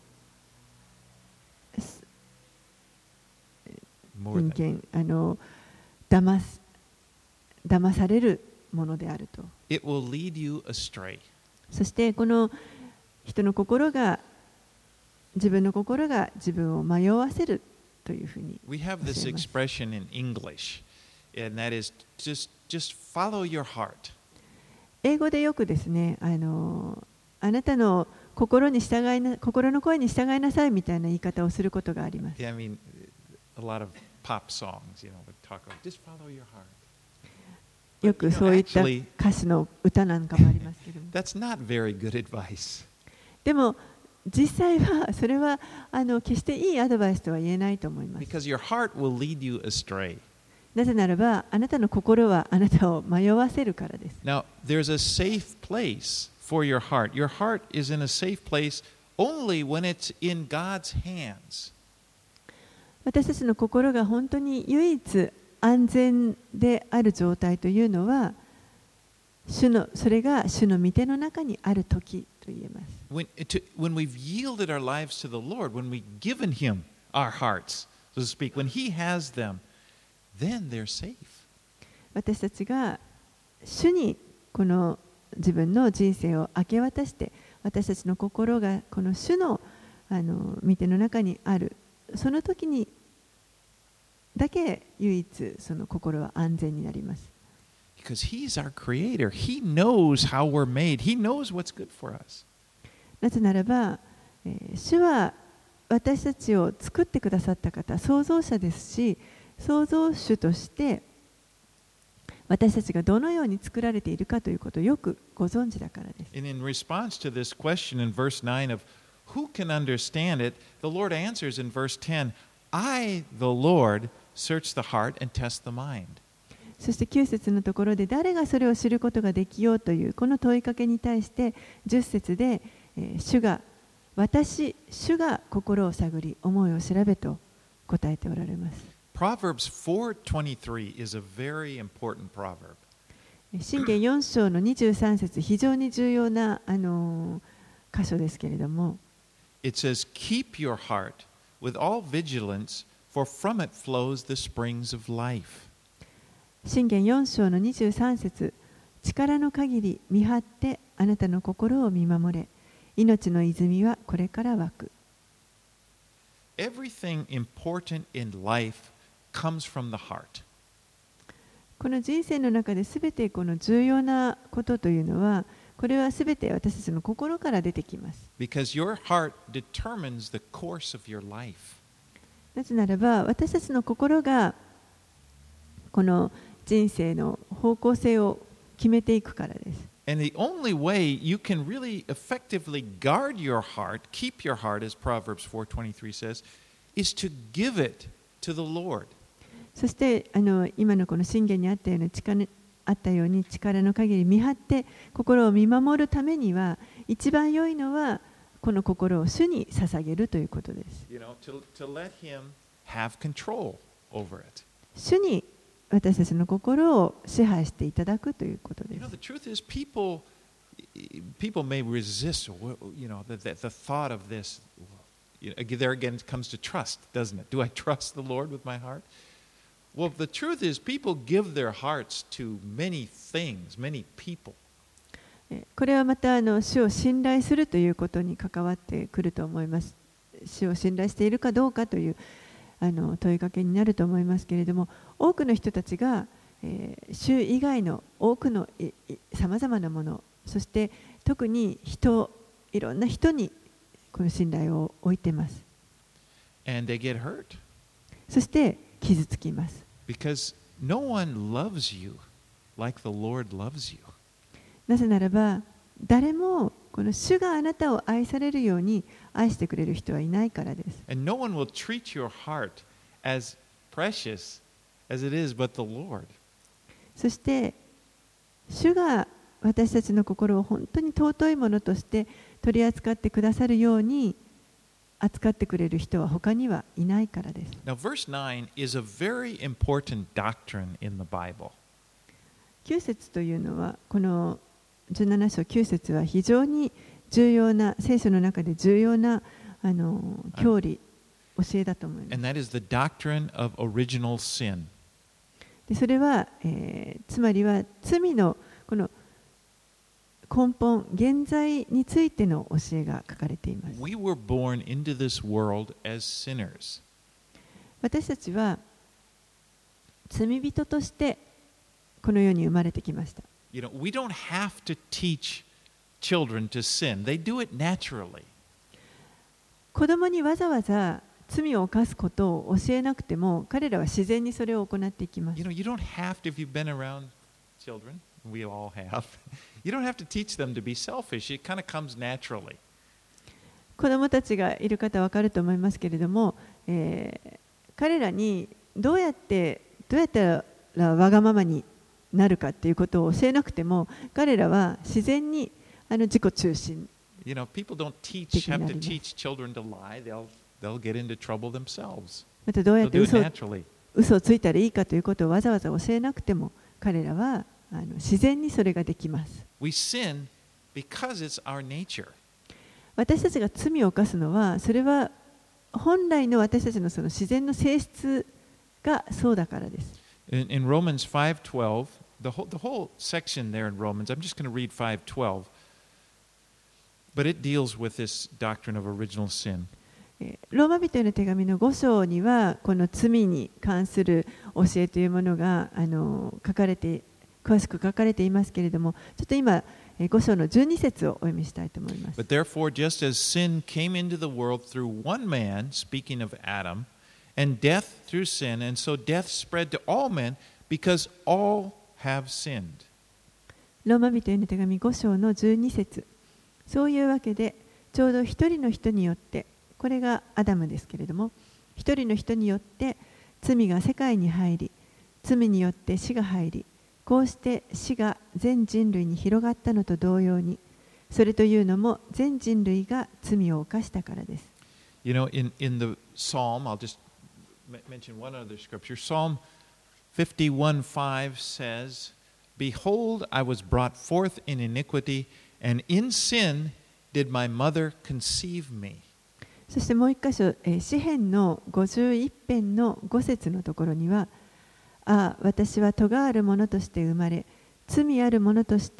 Speaker 2: 陰険あの騙す騙されるものであると。
Speaker 1: It will lead you astray.
Speaker 2: そしてこの人の心が自分の心が自分を迷わせるというふうに。
Speaker 1: We have this expression in English, and that is just just follow your heart.
Speaker 2: 英語でよくですね、あのあなたの心に従いな心の声に従いなさいみたいな言い方をすることがあります。
Speaker 1: Yeah, I mean, a lot of pop songs, you know, would talk about just follow your heart.
Speaker 2: よくそういった歌詞の歌なんかもありますけども。
Speaker 1: That's not very good advice.
Speaker 2: でも実際はそれはあの決していいアドバイスとは言えないと思います。
Speaker 1: Because your heart will lead you astray.
Speaker 2: なぜならばあなたの心はあなたを迷わせるからです。
Speaker 1: Now, there's a safe place for your heart. Your heart is in a safe place only when it's in God's hands.
Speaker 2: 私たちの心が本当に唯一安全である状態というのは、主のそれが主の御手の中にある時と言えます。
Speaker 1: When, to, when we've yielded our lives to the Lord, when we've given Him our hearts, so to speak, when He has them, then they're safe.
Speaker 2: 私たちが主にこの自分の人生を明け渡して、私たちの心がこの主のあの御手の中にある、その時にだけ唯一その心は安全になります。
Speaker 1: Because He's our Creator. He knows how we're made. He knows what's good for us.
Speaker 2: なぜならば、えー、主は私たちを作ってくださった方、創造者ですし、創造主として私たちがどのように作られているかということをよくご存知だからです。
Speaker 1: And in response to this question in verse nine of who can understand it, the Lord answers in verse ten, I, the Lord, search the heart and test the mind.
Speaker 2: そしてきゅう節のところで誰がそれを知ることができようというこの問いかけに対してじゅっ節で、えー、主が私、主が心を探り思いを調べと答えておられます。
Speaker 1: Proverbs four twenty-three is a very important proverb.
Speaker 2: 箴言よん章のにじゅうさん節、非常に重要な、あのー、箇所ですけれども。
Speaker 1: It says, Keep your heart with all vigilance, for from it flows the springs of life.
Speaker 2: 箴言よん章のにじゅうさん節、力の限り見張ってあなたの心を見守れ、 命の泉はこれから湧く。
Speaker 1: Everything important in life comes from the heart.
Speaker 2: この人生の中で全てこの重要なことというのは、これは全て私たちの心から出てきます。
Speaker 1: Because your heart determines the course of your life.
Speaker 2: なぜならば、私たちの心がこの人生の方向性を決めていくからです。
Speaker 1: And the only way you can really effectively guard your heart, keep your heart, as Proverbs four twenty-three says, is to give it to the Lord.
Speaker 2: そしてあの今のこの箴言にあったような力あったように力の限り見張って心を見守るためには、一番良いのはこの心を主に捧げるということです。
Speaker 1: You know, to, to let Him have control over it.
Speaker 2: 主に私たちの心を支配していただくということで
Speaker 1: You know,
Speaker 2: す。
Speaker 1: the truth is, people, people may resist, you know, the, the, the thought of this. You know, there again it comes to trust, doesn't it? Do I trust the Lord with my heart? Well, the truth is, people give their hearts to many things, many people.
Speaker 2: これはまたあの主を信頼するということに関わってくると思います。主を信頼しているかどうかというあの問いかけになると思いますけれども、多くの人たちが、えー、主以外の多くのさまざまなもの、そして特に人、いろんな人にこの信頼を置いています。
Speaker 1: And they get hurt.
Speaker 2: そして傷つきます。
Speaker 1: Because no one loves you like the Lord loves you.
Speaker 2: なぜならば、誰もこの主があなたを愛されるように愛してくれる人はいないからです。
Speaker 1: And no one will treat your heart as precious as it is but the Lord.
Speaker 2: そして、主が私たちの心を本当に尊いものとして取り扱ってくださるように扱ってくれる人は他にはいないからです。
Speaker 1: Now, verse nine is a very important doctrine in the Bible.
Speaker 2: きゅう節というのは、このじゅうなな章きゅう節は非常に重要な、聖書の中で重要なあの教理、教えだと思います。
Speaker 1: And that is the doctrine of original sin.
Speaker 2: でそれは、えー、つまりは罪のこの根本、現在についての教えが書かれています。
Speaker 1: We were born into this world as sinners.
Speaker 2: 私たちは罪人としてこの世に生まれてきました。
Speaker 1: You know, we don't have to teach children to sin. They do it naturally.
Speaker 2: 子供にわざわざ罪を犯すことを教えなくても、彼らは自然にそれを行っていきます。
Speaker 1: You know, you don't have to, if you've been around children, we all have, you don't have to teach them to be selfish. It kind of comes naturally.
Speaker 2: 子供たちがいる方は分かると思いますけれども、えー、彼らにどうやってどうやったらわがままになるかっていうことを教えなくても、彼らは自然にあの自己中心。
Speaker 1: You know, people don't teach, have to teach children to lie. They'll, they'll get into trouble themselves.
Speaker 2: またどうやって
Speaker 1: They'll do
Speaker 2: 嘘
Speaker 1: it
Speaker 2: を
Speaker 1: naturally.
Speaker 2: 嘘をついたらいいかということをわざわざ教えなくても、彼らはあの自然にそれができます。
Speaker 1: We sin because it's our nature.
Speaker 2: 私たちが罪を犯すのは、それは本来の私たちのその自然の性質がそうだからです。
Speaker 1: In, in Romans five twelve, the whole, the whole section there in Romans, I'm just going to read five twelve, but it deals with this doctrine of original sin.
Speaker 2: ローマ人への手紙のご章には、この罪に関する教えというものがあの書かれて、詳しく書かれていますけれども、ちょっと今、ご章のじゅうに節をお読みしたいと思います。
Speaker 1: But therefore, just as sin came into the world through one man, speaking of Adam, and death through sin, and so death spread to all men because all have sinned.
Speaker 2: ローマ人への手紙ご章のじゅうに節。そういうわけで、ちょうど一人の人によって、これがアダムですけれども、一人の人によって罪が世界に入り、罪によって死が入り、こうして死が全人類に広がったのと同様に、それというのも全人類が罪を犯したからです。
Speaker 1: You know, in, in the Psalm, I'll just mention one other scripture. Psalm fifty-one five says, Behold, I was brought forth in iniquity, and in sin did my mother conceive me.
Speaker 2: そしてもう一箇所、えー、詩編のごじゅういち編のご節のところには、ああ、私は咎あるものとして生まれ、罪あるものとして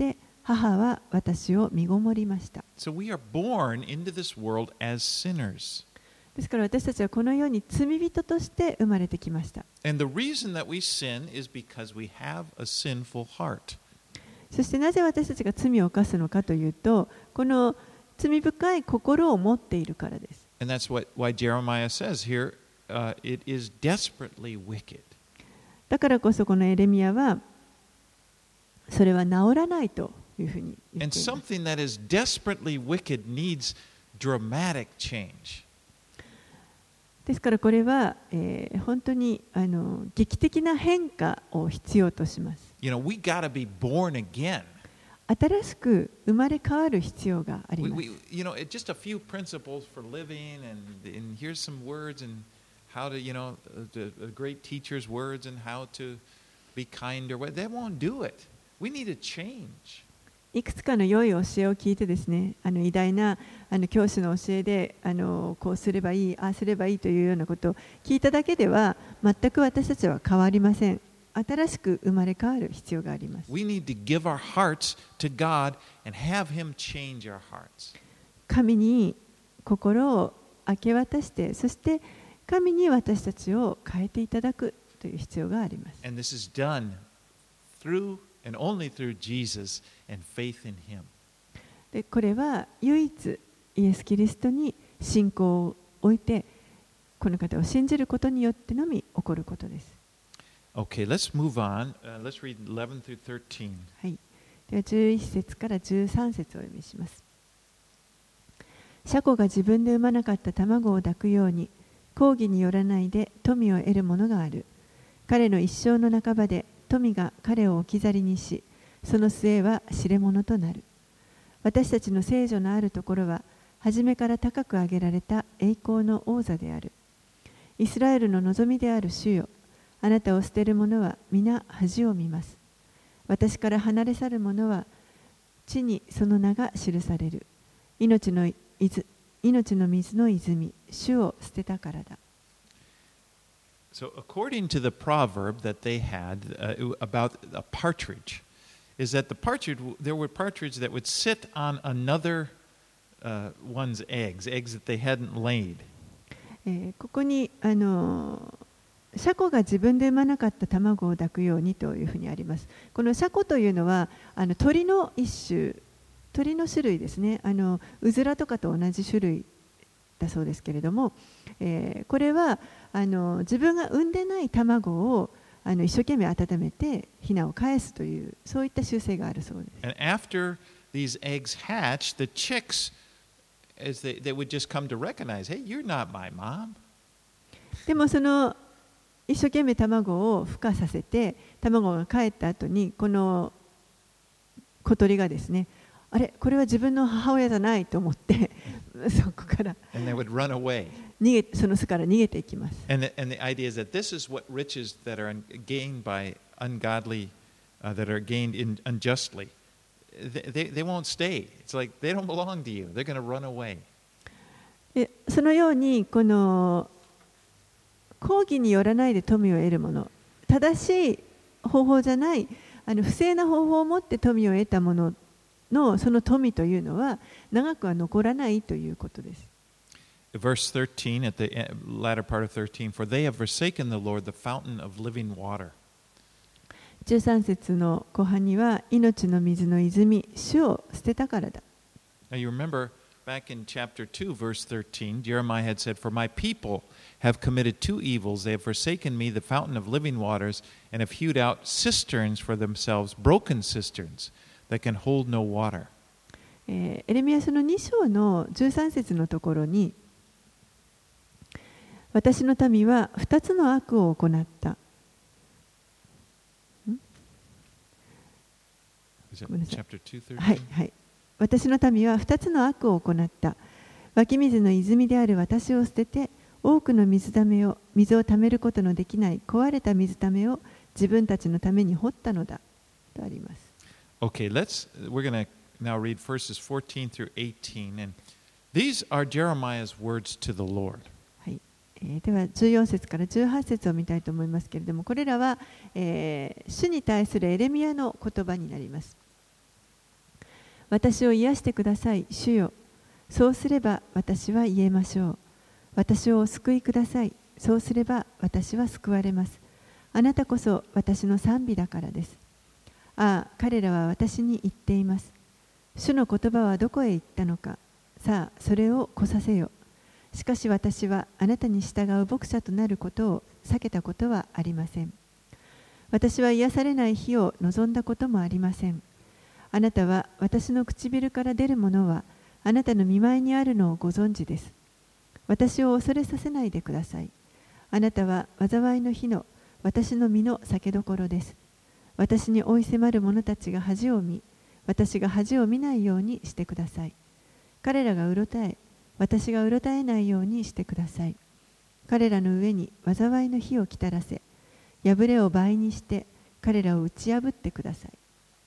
Speaker 2: 母は私を身ごもりました。
Speaker 1: So we are born into this world as sinners.
Speaker 2: ですから私たちはこの世に罪人として生まれてきました。
Speaker 1: And the reason that we sin is because we have a sinful heart.
Speaker 2: そしてなぜ私たちが罪を犯すのかというと、この罪深い心を持っているからです。
Speaker 1: And that's what, why Jeremiah says here, uh, it is desperately wicked.
Speaker 2: だからこそこのエレミヤはそれは治らないというふうに言
Speaker 1: And
Speaker 2: っています。
Speaker 1: something that is desperately wicked needs dramatic change.
Speaker 2: ですからこれは、えー、本当にあの劇的な変化を必要とします。
Speaker 1: You know, we gotta be born again.
Speaker 2: 新しく生まれ変わる必要があり
Speaker 1: We,
Speaker 2: ます。
Speaker 1: we, you know, it, just a few principles for living, and, and here's some words and how to, you know, the, the great teacher's words and how to be kind or what. That won't do it. We need a change.
Speaker 2: いくつかの良い教えを聞いてですね、あの偉大なあの教師の教えであのこうすればいい、ああすればいいというようなことを聞いただけでは全く私たちは変わりません。新しく生まれ変わる必要があります。
Speaker 1: We need to give our hearts to God and have Him change our hearts.
Speaker 2: 神に心を明け渡して、そして神に私たちを変えていただくという必要があります。
Speaker 1: And this is done through and only through Jesus and faith in Him.
Speaker 2: でこれは唯一イエス・キリストに信仰を置いて、この方を信じることによってのみ起こることです。
Speaker 1: Okay, let's move on. Uh, let's read eleven through thirteen.
Speaker 2: はい、ではじゅういち節からじゅうさん節をお読みします。シャコが自分で産まなかった卵を抱くように、公義によらないで富を得るものがある。彼の一生の半ばで富が彼を置き去りにし、その末は知れ者となる。私たちの聖女のあるところは、初めから高く上げられた栄光の王座である。イスラエルの望みである主よ、あなたを捨てる者は皆恥を見ます。私から離れ去る者は地にその名が記される。命の命の水の泉、主を捨てたからだ。
Speaker 1: So, according to the proverb that they had uh, about a partridge, is that the partridge, there were partridge that would sit on another uh, one's eggs, eggs that they hadn't laid.
Speaker 2: えー、ここにあのシャコが自分で産まなかった卵を抱くようにというふうにあります。このシャコというのはあの鳥の一種、鳥の種類ですね。あのうずらとかと同じ種類だそうですけれども、えー、これはあの自分が産んでない卵をあの一生懸命温めてヒナを返すというそういった習性があるそうです。
Speaker 1: And after these eggs hatch, the chicks, as they, they would just come to recognize, hey, you're not my mom.
Speaker 2: でもその一生懸命卵を孵化させて卵が帰った後にこの小鳥がですね、あれこれは自分の母親じゃないと思ってそこから
Speaker 1: And they would run away.
Speaker 2: 逃げその巣から逃げていきます。
Speaker 1: And the, and the idea is that this is what riches that are gained by ungodly, uh, that are gained in, unjustly, they, they, they won't stay. It's like they don't belong to you. They're going to run away.
Speaker 2: でそのようにこの公義によらないで富を得るもの、正しい方法じゃないあの不正な方法を持って富を得たもののその富というのは長くは残らないということです。
Speaker 1: Verse thirteen, at the latter part of thirteen, for they have forsaken the Lord, the fountain of living water.
Speaker 2: じゅうさん節の後半には命の水の泉、主を捨てたからだ。
Speaker 1: Now you remember back in chapter two, verse thirteen, Jeremiah had said, for my people have committed two evils. They have forsaken me, the fountain of living waters, and have hewed out cisterns for themselves, broken cisterns that can hold no water.
Speaker 2: えー、エレミヤ書のに章のじゅうさん節のところに、私の民は二つの悪を行った。はいはい。私の民は二つの悪を行った。湧き水の泉である私を捨てて、多くの水ためを水をためることのできない壊れた水ためを自分たちのために掘ったのだとあります。
Speaker 1: Okay, let's we're going to now read verses fourteen through eighteen, and these are Jeremiah's words to the Lord.
Speaker 2: はい。えー、ではじゅうよん節からじゅうはち節を見たいと思いますけれども、これらは、えー、主に対するエレミヤの言葉になります。 私を癒してください、主よ。そうすれば私は言えましょう。私をお救いください。そうすれば私は救われます。あなたこそ私の賛美だからです。ああ、彼らは私に言っています。主の言葉はどこへ行ったのか。さあ、それを来させよ。しかし私はあなたに従う牧者となることを避けたことはありません。私は癒されない日を望んだこともありません。あなたは私の唇から出るものはあなたの御前にあるのをご存知です。私を恐れさせないでください。あなたは災いの日の私の身の酒どころです。私に追い迫る者たちが恥を見、私が恥を見ないようにしてください。彼らがうろたえ、私がうろたえないようにしてください。彼らの上に災いの火をきたらせ、破れを倍にして彼らを打ち破ってください。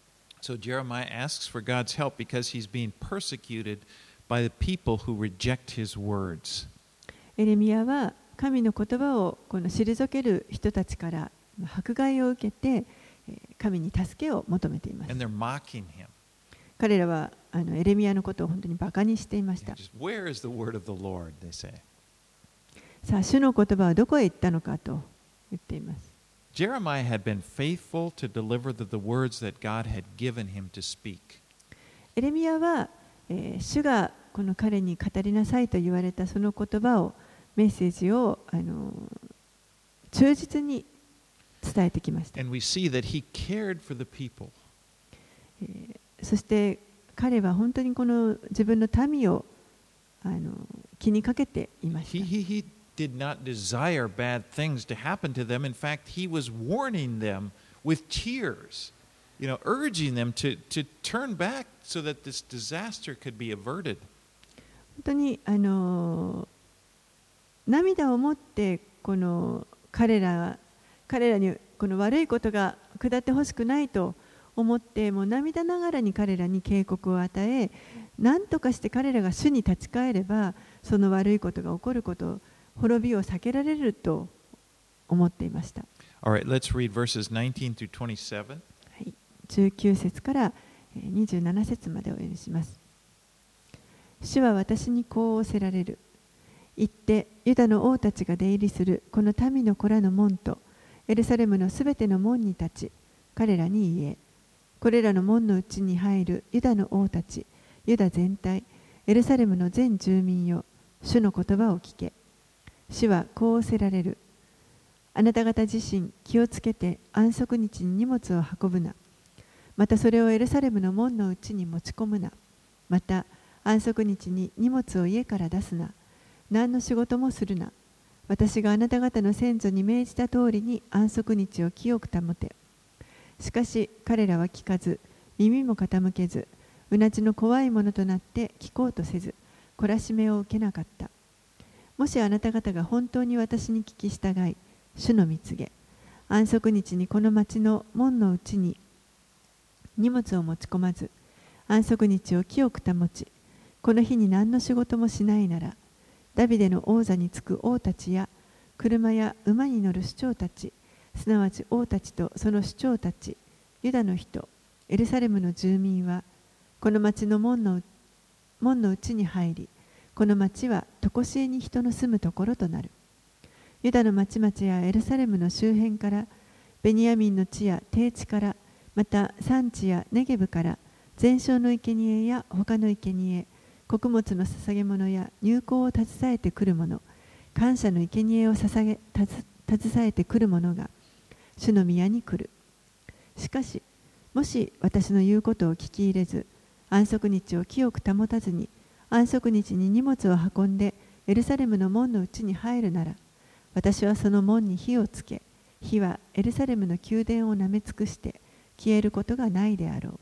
Speaker 1: So Jeremiah asks for God's help because he's being persecuted by the people who reject his words.
Speaker 2: エレミヤは神の言葉をこの退ける人たちから迫害を受けて神に助けを求めています。
Speaker 1: And they're mocking him.
Speaker 2: 彼らはあのエレミヤのことを本当にバカにしていました。
Speaker 1: Just, Where is the word of the Lord? They say.
Speaker 2: さあ、主の言葉はどこへ行ったのかと言っています。
Speaker 1: Jeremiah had been faithful to deliver the, the words that God had given him to speak.
Speaker 2: エレミヤは、えー、主がこの彼に語りなさいと言われたその言葉を、メッセージを、あの忠実に伝えてきました。
Speaker 1: And we see that he cared for the people.
Speaker 2: えーそして彼は本当にこの自分の民をあの気にかけていました。
Speaker 1: He, he, he did not desire bad things to happen to them. In fact, he was warning them with tears, you know, urging them to, to turn back so that this disaster could be averted.
Speaker 2: 本当にあの涙を持ってこの彼ら彼らにこの悪いことが下ってほしくないと思ってもう涙ながらに彼らに警告を与え、何とかして彼らが主に立ち返ればその悪いことが起こること、滅びを避けられると思っていました。
Speaker 1: All right, let's read verses nineteen through twenty-seven.
Speaker 2: はい、じゅうきゅう節からにじゅうなな節までお読みします。主は私にこう仰せられる。行ってユダの王たちが出入りするこの民の子らの門とエルサレムのすべての門に立ち、彼らに言え。これらの門のうちに入るユダの王たち、ユダ全体、エルサレムの全住民よ、主の言葉を聞け。主はこう仰せられる。あなた方自身気をつけて安息日に荷物を運ぶな。またそれをエルサレムの門のうちに持ち込むな。また安息日に荷物を家から出すな。何の仕事もするな。私があなた方の先祖に命じた通りに安息日を清く保て。しかし彼らは聞かず、耳も傾けず、うなじの怖いものとなって聞こうとせず、懲らしめを受けなかった。もしあなた方が本当に私に聞き従い、主の御告げ、安息日にこの町の門のうちに荷物を持ち込まず、安息日を清く保ち、この日に何の仕事もしないなら、ダビデの王座につく王たちや、車や馬に乗る首長たち、すなわち王たちとその首長たち、ユダの人、エルサレムの住民は、この町の門の門のうちに入り、この町は常しえに人の住むところとなる。ユダの町々やエルサレムの周辺から、ベニヤミンの地や低地から、また山地やネゲブから、全焼の生贄や他の生贄、穀物の捧げ物や入香を携えてくる者、感謝の生贄を捧げ携えてくる者が、主の宮に来る。しかし、もし私の言うことを聞き入れず、安息日を清く保たずに、安息日に荷物を運んでエルサレムの門のうちに入るなら、私はその門に火をつけ、火はエルサレムの宮殿をなめ尽くして消えることがないであろう。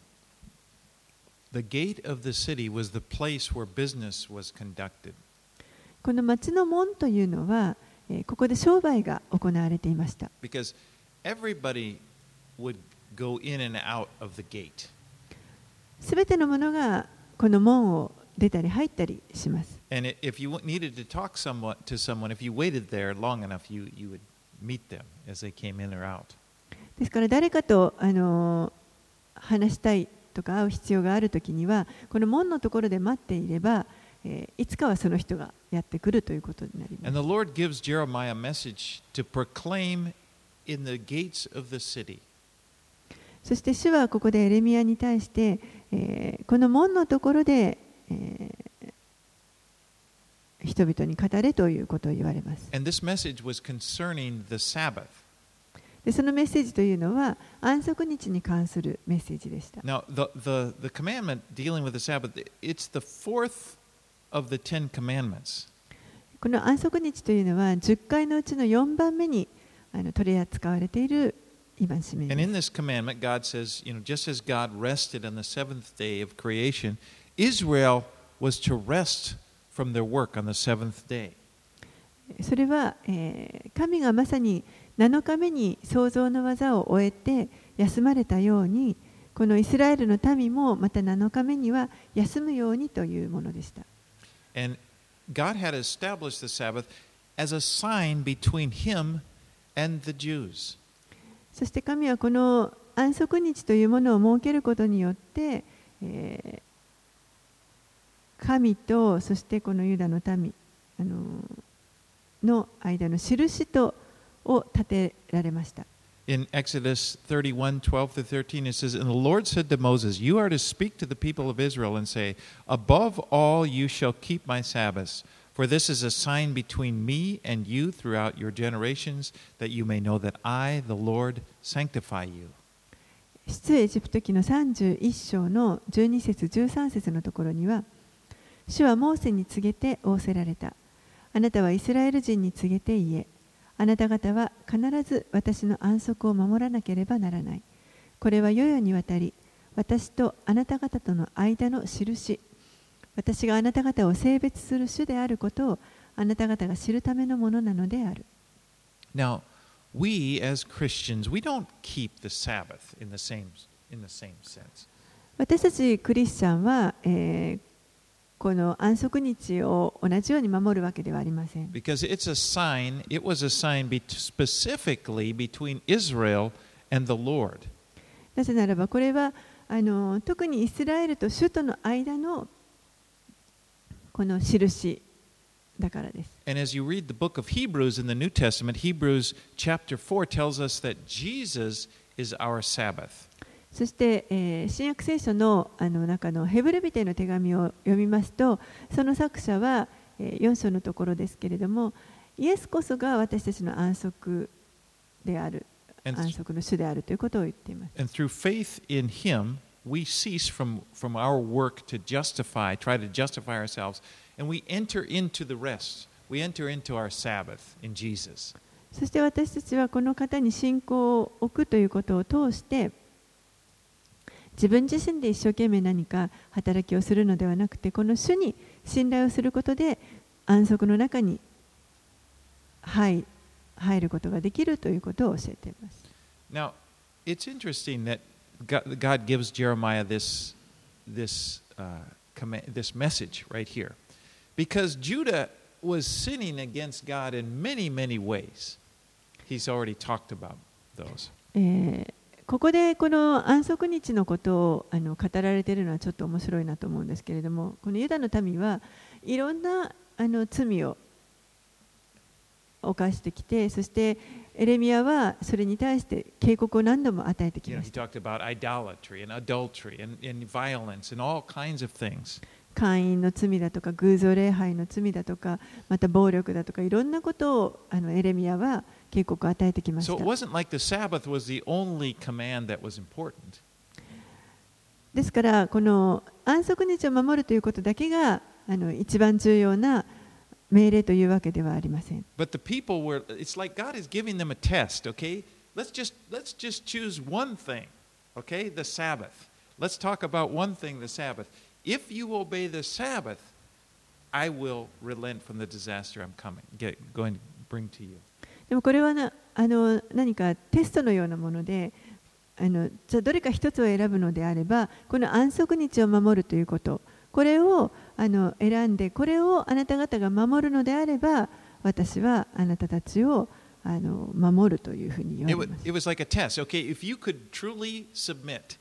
Speaker 1: The gate of the city was the place where business was conducted.
Speaker 2: この町の門というのは、ここで商売が行われていました。
Speaker 1: Because everybody would go in and out of the gate.
Speaker 2: すべてのものがこの門を出たり入ったりします。
Speaker 1: And if you needed to talk somewhat to someone, if you waited there long enough, you, you would meet them as they came in or out.
Speaker 2: ですから誰かとあの話したいとか会う必要があるときには、この門のところで待っていれば、えー、いつかはその人がやってくるということになります。
Speaker 1: And the Lord gives Jeremiah a message to proclaim in the gates of the city.
Speaker 2: そして主はここでエレミヤに対して、えー、この門のところで、えー、人々に語れということを言われます。
Speaker 1: And this message was concerning the Sabbath.
Speaker 2: でそのメッセージというのは安息日に関するメッセージでした。
Speaker 1: Now, the, the, the commandment dealing with the Sabbath, it's the fourth of the Ten Commandments.
Speaker 2: この安息日というのはじゅっかいのうちのよんばんめにあの取り扱われている戒めです。
Speaker 1: And in this commandment, God says, you know, just as God rested on the seventh day of creation, Israel was to rest from their work on the seventh day.
Speaker 2: それは、えー、神がまさになのかめに創造の技を終えて休まれたように、このイスラエルの民もまたなのかめには休むようにというものでした。
Speaker 1: And God had established the Sabbath as a sign between Him and the Jews.
Speaker 2: そして神はこの安息日というものを設けることによって、えー、神とそしてこのユダの民あのの間の印とを立てられました。
Speaker 1: In Exodus thirty-one, twelve through thirteen, it says, And the Lord said to Moses, You are to speak to the people of Israel and say, Above all you shall keep my Sabbaths, for this is a sign between me and you throughout your generations, that you may know that I, the Lord, sanctify you.
Speaker 2: 出エジプト記のさんじゅういっ章のじゅうに節じゅうさん節のところには、主はモーセに告げて仰せられた。あなたはイスラエル人に告げて言え。あなた方は必ず私の安息を守らなければならない。これは世々にわたり、私とあなた方との間の印。私があなた方を性別する主であることをあなた方が知るためのものなのである。
Speaker 1: Now, we as Christians, we don't keep the Sabbath in the same, in the same sense.
Speaker 2: 私たちクリスチャンは、えーこの安息日を同じように守るわけではありません。
Speaker 1: Because it's a sign, it was a sign be specifically between Israel and the Lord.
Speaker 2: なぜならばこれはあの特にイスラエルと主との間のこの印だからです。
Speaker 1: And as you read the book of Hebrews in the New Testament, Hebrews chapter four tells us that Jesus is our Sabbath.
Speaker 2: そして、えー、新約聖書 の, あの中のヘブル人への手紙を読みますと、その作者は、えー、よん章のところですけれども、イエスこそが私たちの安息である、安息の主であるということを言っています。
Speaker 1: And through faith in Him, we cease from, from our work to justify, try to justify ourselves, and we enter into the rest. We enter into our Sabbath in Jesus.
Speaker 2: そして私たちはこの方に信仰を置くということを通して、自分自身で一生懸命何か働きをするのではなくて、この主に信頼をすることで安息の中に入ることができるということを教えています。
Speaker 1: Now, it's interesting that God gives Jeremiah this, this, uh, command, this message right here. Because Judah was sinning against God in many, many ways. He's already talked about those.
Speaker 2: えーここでこの安息日のことをあの語られているのはちょっと面白いなと思うんですけれども、このユダの民はいろんなあの罪を犯してきて、そしてエレミヤはそれに対して警告を何度も与えてきました。姦淫の罪だとか偶像礼拝の罪だとか、また暴力だとかいろんなことをあのエレミヤは警告を与えてきました。
Speaker 1: So it wasn't like the Sabbath was the only command that was important.
Speaker 2: ですからこの安息日を守るということだけがあの一番重要な命令というわけではありません。
Speaker 1: But the people were, it's like God is giving them a test, okay? Let's just, let's just choose one thing, okay? The Sabbath. Let's talk about one thing, the Sabbath. If you obey the Sabbath, I will relent from the disaster I'm coming, get, going to bring to you.
Speaker 2: でもこれはなあの何かテストのようなもので、あのじゃあどれか一つを選ぶのであれば、この安息日を守るということ、これをあの選んで、これをあなた方が守るのであれば、私はあなたたちをあの守るというふうに言われます。
Speaker 1: It was like a test. Okay, if you could truly submit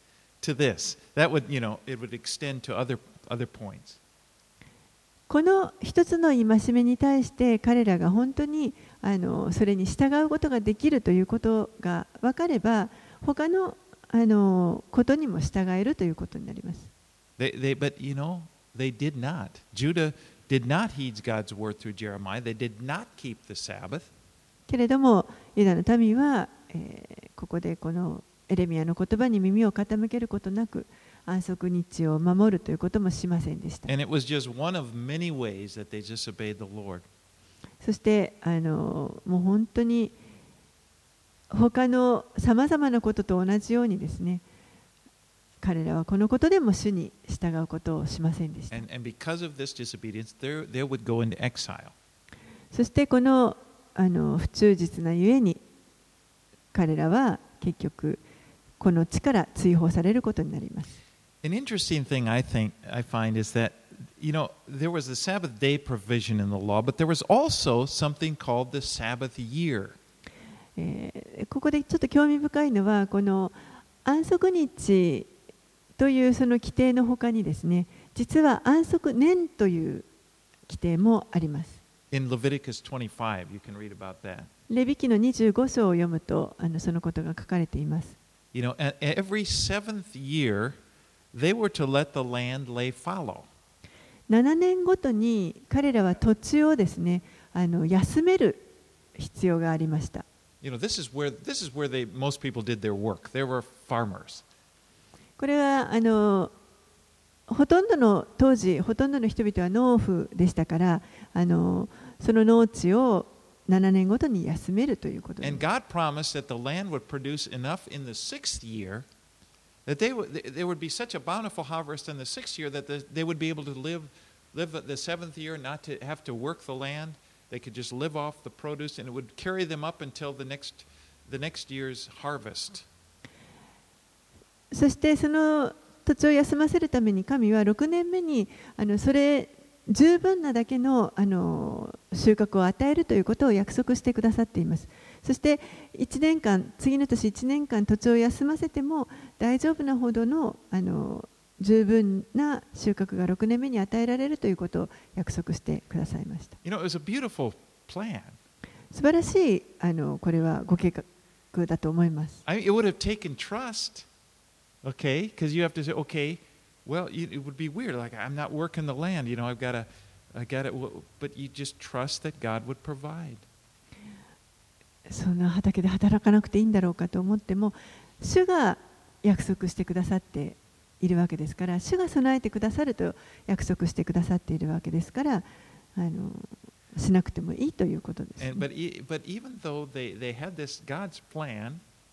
Speaker 1: to this. That would, you know, it would extend to other, other points.
Speaker 2: この一つの戒めに対して彼らが本当にあのそれに従うことができるということが分かれば、他のあのことにも従えるということになります。
Speaker 1: They, they, but, you know, they did not. Judah did not heed God's word through Jeremiah. They did not keep the Sabbath.
Speaker 2: けれども、ユダの民は、えー、ここでこのエレミヤの言葉に耳を傾けることなく、安息日を守るということもしませんでした。
Speaker 1: And it was just one of many ways that they disobeyed the Lord.
Speaker 2: そしてあのもう本当に他のさまざまなことと同じようにですね、彼らはこのことでも主に従うことをしませんでした。
Speaker 1: And, and because of this disobedience, they they would go into exile.
Speaker 2: そしてこのあの不忠実なゆえに彼らは結局この地から追放されることになります。
Speaker 1: An interesting thing I think I find is that, you know, there was the Sabbath day provision in the law, but there was also something called the Sabbath year.
Speaker 2: えー、ここでちょっと興味深いのは、この安息日というその規定のほかにですね、実は安息年という規定もあります。
Speaker 1: In Leviticus twenty-five, you can read about that.
Speaker 2: レビ記のにじゅうご章を読むと、あのそのことが書かれています。
Speaker 1: You know, every seventh year, they were to let the land lay fallow.
Speaker 2: ななねんごとに彼らは土地をですね、あの休める必要がありました。
Speaker 1: You know, this is where this is where they most people did their work. They were farmers.
Speaker 2: これはあのほとんどの当時ほとんどの人々は農夫でしたから、あのその農地をななねんごとに休めるということです。
Speaker 1: And God promised that the land would produce enough in the sixth year that they would there would be such a bountiful harvest in the sixth year that the, they would be able to live live the seventh year, not to have to work the land. They could just live off the produce, and it would carry them up until the next the next year's harvest.
Speaker 2: そしてその土地を休ませるために神はろくねんめにあのそれ十分なだけのあの収穫を与えるということを約束してくださっています。そしていちねんかん、次の年いちねんかん土地を休ませても大丈夫なほどのあの十分な収穫がろくねんめに与えられるということを約束してくださいました。
Speaker 1: You know, it was a beautiful plan.
Speaker 2: 素晴らしいあのこれはご計画だと思います。
Speaker 1: I mean, it would have taken trust, okay? Because you have to say, okay, well, it would be weird. Like I'm not working the land, you know. I've got to, I got to, but you just trust that God would provide.
Speaker 2: そんな畑で働かなくていいんだろうかと思っても、主が約束してくださっているわけですから、主が備えてくださると約束してくださっているわけですから、あのしなくてもいいということです、ね。
Speaker 1: And, but, but even though they, they had this God's plan,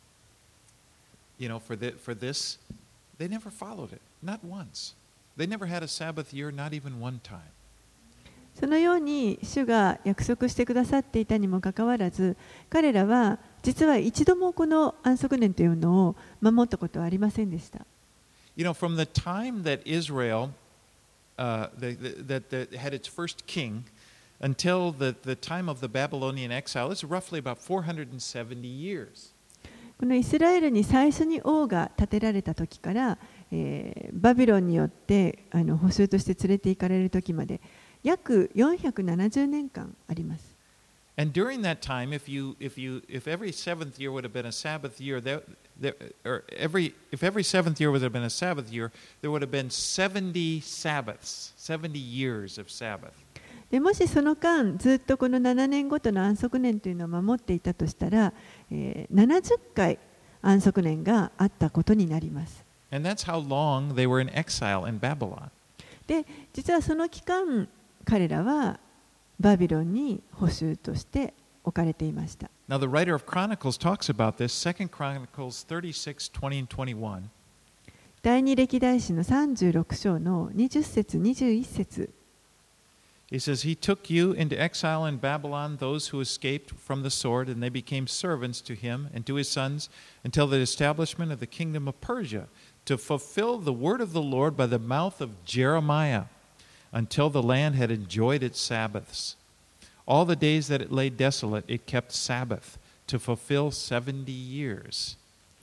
Speaker 1: you know, for the, for this, they never followed it, not once. They never had a Sabbath year, not even one time.
Speaker 2: そのように主が約束してくださっていたにもかかわらず、彼らは実は一度もこの安息年というのを守ったことはありませんでした。
Speaker 1: You know, from the time that Israel uh, the, the, that, that had its first king until the, the time of the Babylonian exile, it's roughly about four hundred seventy years.
Speaker 2: このイスラエルに最初に王が建てられた時から、えー、バビロンによってあの捕囚として連れて行かれる時まで約よんひゃくななじゅうねんかんあります。
Speaker 1: And during that time, if you, if you, if every seventh year would have been a Sabbath year, there, there, or every, if every seventh year would have been a Sabbath year, there would have been seventy Sabbaths, seventy years of Sabbath.
Speaker 2: でもしその間ずっとこのななねんごとの安息年というのを守っていたとしたら、えー、ななじゅっかい安息年があったことになります。
Speaker 1: And that's how long they were in exile in Babylon.
Speaker 2: で、実はその期間彼らはバビロンに捕囚として置かれていました。
Speaker 1: Now the writer of Chronicles talks about this, Second Chronicles thirty-six, twenty and twenty-one.
Speaker 2: 第二歴代史のさんじゅうろく章のにじゅっ節、にじゅういち節。
Speaker 1: He says, He took you into exile in Babylon, those who escaped from the sword, and they became servants to him and to his sons until the establishment of the kingdom of Persia, to fulfill the word of the Lord by the mouth of Jeremiah, until the land had enjoyed its Sabbaths. All the days that it lay desolate, it kept Sabbath, to fulfill seventy years.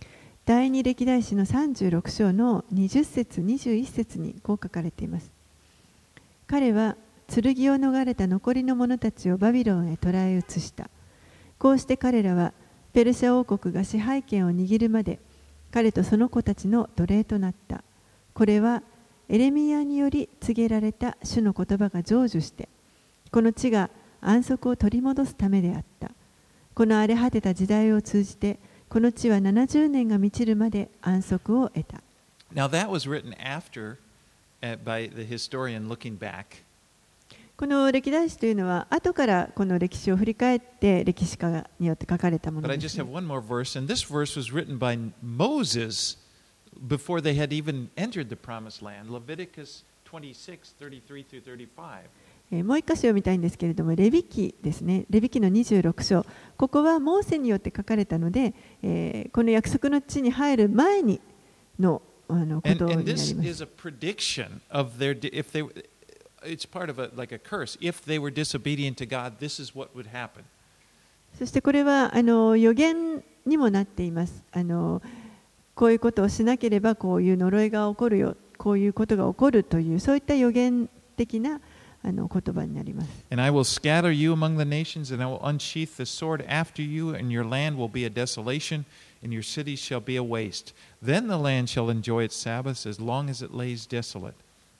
Speaker 2: 第二歴代史のさんじゅうろく章のにじゅっ節にじゅういち節にこう書かれています。彼は剣を逃れた残りの者たちをバビロンへ捕らえ移した。こうして彼らはペルシャ王国が支配権を握るまで彼とその子たちの奴隷となった。これはエレミヤにより告げられた主の言葉が成就して、この地が安息を取り戻すためであった。この荒れ果てた時代を通じて、この地はななじゅうねんが満ちるまで安息を得た。
Speaker 1: Now that was written after, uh, by the historian looking back.
Speaker 2: この歴代史というのは後からこの歴史を振り返って歴史家によって書かれたもの
Speaker 1: But I
Speaker 2: で
Speaker 1: just
Speaker 2: す、
Speaker 1: have one more verse, and this verse was written by Moses before they had even entered the promised land. Leviticus twenty-six, thirty-three through thirty-five.
Speaker 2: えーもう一箇所読みたいんですけれども、レビ記ですね。レビ記のにじゅうろく章。ここはモーセによって書かれたので、えーこの約束の地に入る前にの、あのこ
Speaker 1: And,
Speaker 2: とにな
Speaker 1: and
Speaker 2: り
Speaker 1: this
Speaker 2: ます。
Speaker 1: is a prediction of their, if they, it's part of a, like a curse. If they were disobedient to God, this is what would happen.
Speaker 2: そしてこれはあの予言にもなっています。あのこういうことをしなければこういう呪いが起こるよ、こういうことが起こるというそういった予言的なあの言葉になります。
Speaker 1: And I will scatter you among the nations, and I will unsheath the sword after you, and your land will be a desolation, and your cities shall be a waste. Then the land shall enjoy its Sabbaths as long as it lays desolate,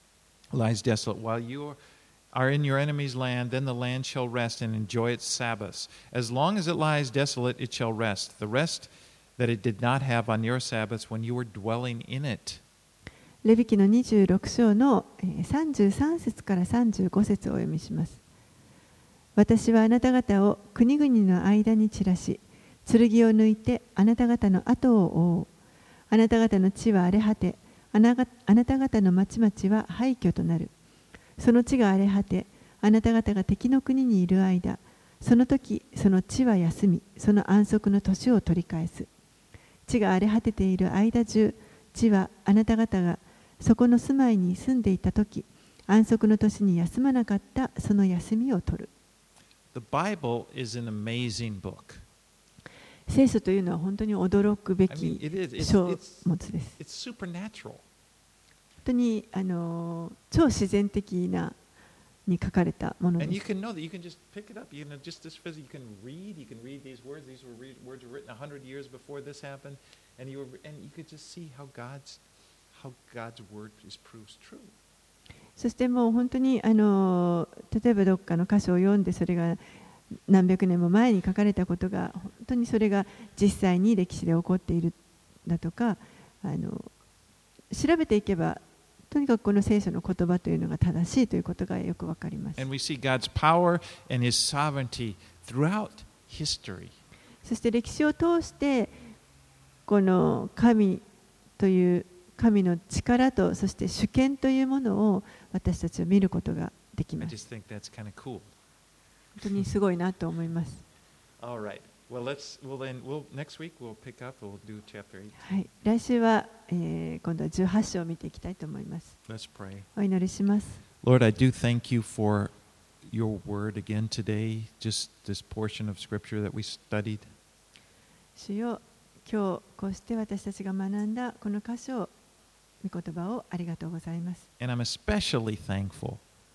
Speaker 1: lies desolate. While you are in your enemy's land, then the land shall rest and enjoy its Sabbaths. As long as it lies desolate, it shall rest. The rest that it did not have on your Sabbaths when you were dwelling in it.
Speaker 2: レビ記のにじゅうろく章のさんじゅうさん節からさんじゅうご節をお読みします。私はあなた方を国々の間に散らし、剣を抜いてあなた方の後を追う。あなた方の地は荒れ果て、あなた方の町々は廃墟となる。その地が荒れ果て、あなた方が敵の国にいる間、その時その地は休み、その安息の年を取り返す。地が荒れ果てている間中、地はあなた方がそこの住まいに住んでいたとき、安息の年に休まなかったその休みを取る。
Speaker 1: The Bible is an amazing book.
Speaker 2: 聖書というのは本当に驚くべ
Speaker 1: I mean,
Speaker 2: き
Speaker 1: it is. It's,
Speaker 2: 書
Speaker 1: it's,
Speaker 2: 物です。
Speaker 1: it's supernatural.
Speaker 2: 本当にあの超自然的なに書かれたもの
Speaker 1: And
Speaker 2: で
Speaker 1: you
Speaker 2: す。
Speaker 1: can know that you can just pick it up. You know, just this physical. You can read. You can read these words. These were read, words were written a hundred years before this happened, and you were, and you could just see how God's how God's word is proves true.
Speaker 2: そしてもう本当にあの例えばどっかの箇所を読んでそれが何百年も前に書かれたことが本当にそれが実際に歴史で起こっているだとか、あの調べていけばとにかくこの聖書の言葉というのが正しいということがよくわかります。
Speaker 1: And we see God's power and His sovereignty throughout history.
Speaker 2: そして歴史を通してこの神という神の力とそして主権というものを私たちは見ることができ
Speaker 1: I
Speaker 2: ます。
Speaker 1: just think that's kind of cool.
Speaker 2: 本当にすごいなと思います。
Speaker 1: All right. Well, let's. Well, then, we'll next week we'll pick up. We'll do chapter eight.
Speaker 2: はい、来週は、えー、今度はじゅうはち章を見ていきたいと思います。
Speaker 1: Let's pray.
Speaker 2: お祈りします。
Speaker 1: Lord, I do thank you for your word again today. Just this portion of scripture that we studied.
Speaker 2: 主よ、今日こうして私たちが学んだこの箇所を御言葉をありがとうございます。
Speaker 1: And I'm especially thankful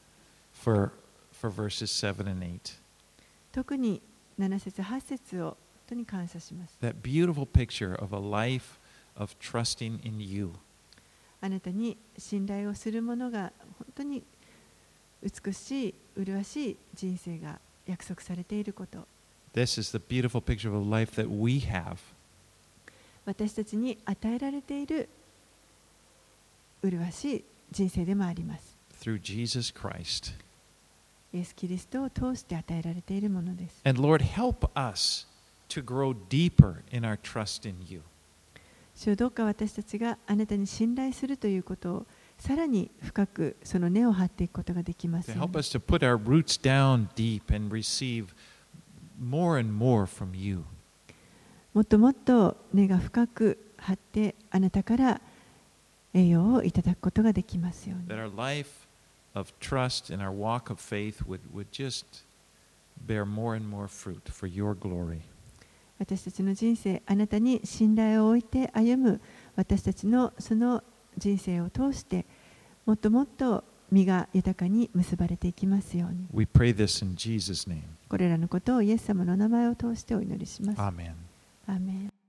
Speaker 1: for for verses seven and eight.
Speaker 2: 特になな節はち節を本当に感謝します。
Speaker 1: That beautiful picture of a life of trusting in you.
Speaker 2: あなたに信頼をする者が本当に美しい、麗しい人生が約束されていること。
Speaker 1: This is the beautiful picture of a life that we have.
Speaker 2: 私たちに与えられている麗しい人生でもあります。
Speaker 1: Through Jesus Christ.
Speaker 2: イエス・キリストを通して与えられているものです。
Speaker 1: And Lord, help us to grow deeper in our trust in you.
Speaker 2: 主よ、どうか私たちがあなたに信頼するということをさらに深くその根を張っていくことができます
Speaker 1: To
Speaker 2: よう
Speaker 1: help
Speaker 2: に。
Speaker 1: us to put our roots down deep and receive more and more from you.
Speaker 2: もっともっと根が深く張ってあなたから栄養をいただくことができますように。
Speaker 1: That our life of trust and our walk of faith would, would just bear more and more fruit for your glory.
Speaker 2: 私たちの人生、あなたに信頼を置いて歩む私たちのその人生を通して、もっともっと実が豊かに結ばれていきますように。
Speaker 1: We pray this in Jesus' name.
Speaker 2: これらのことをイエス様の名前を通してお祈りします。
Speaker 1: Amen.
Speaker 2: アーメン。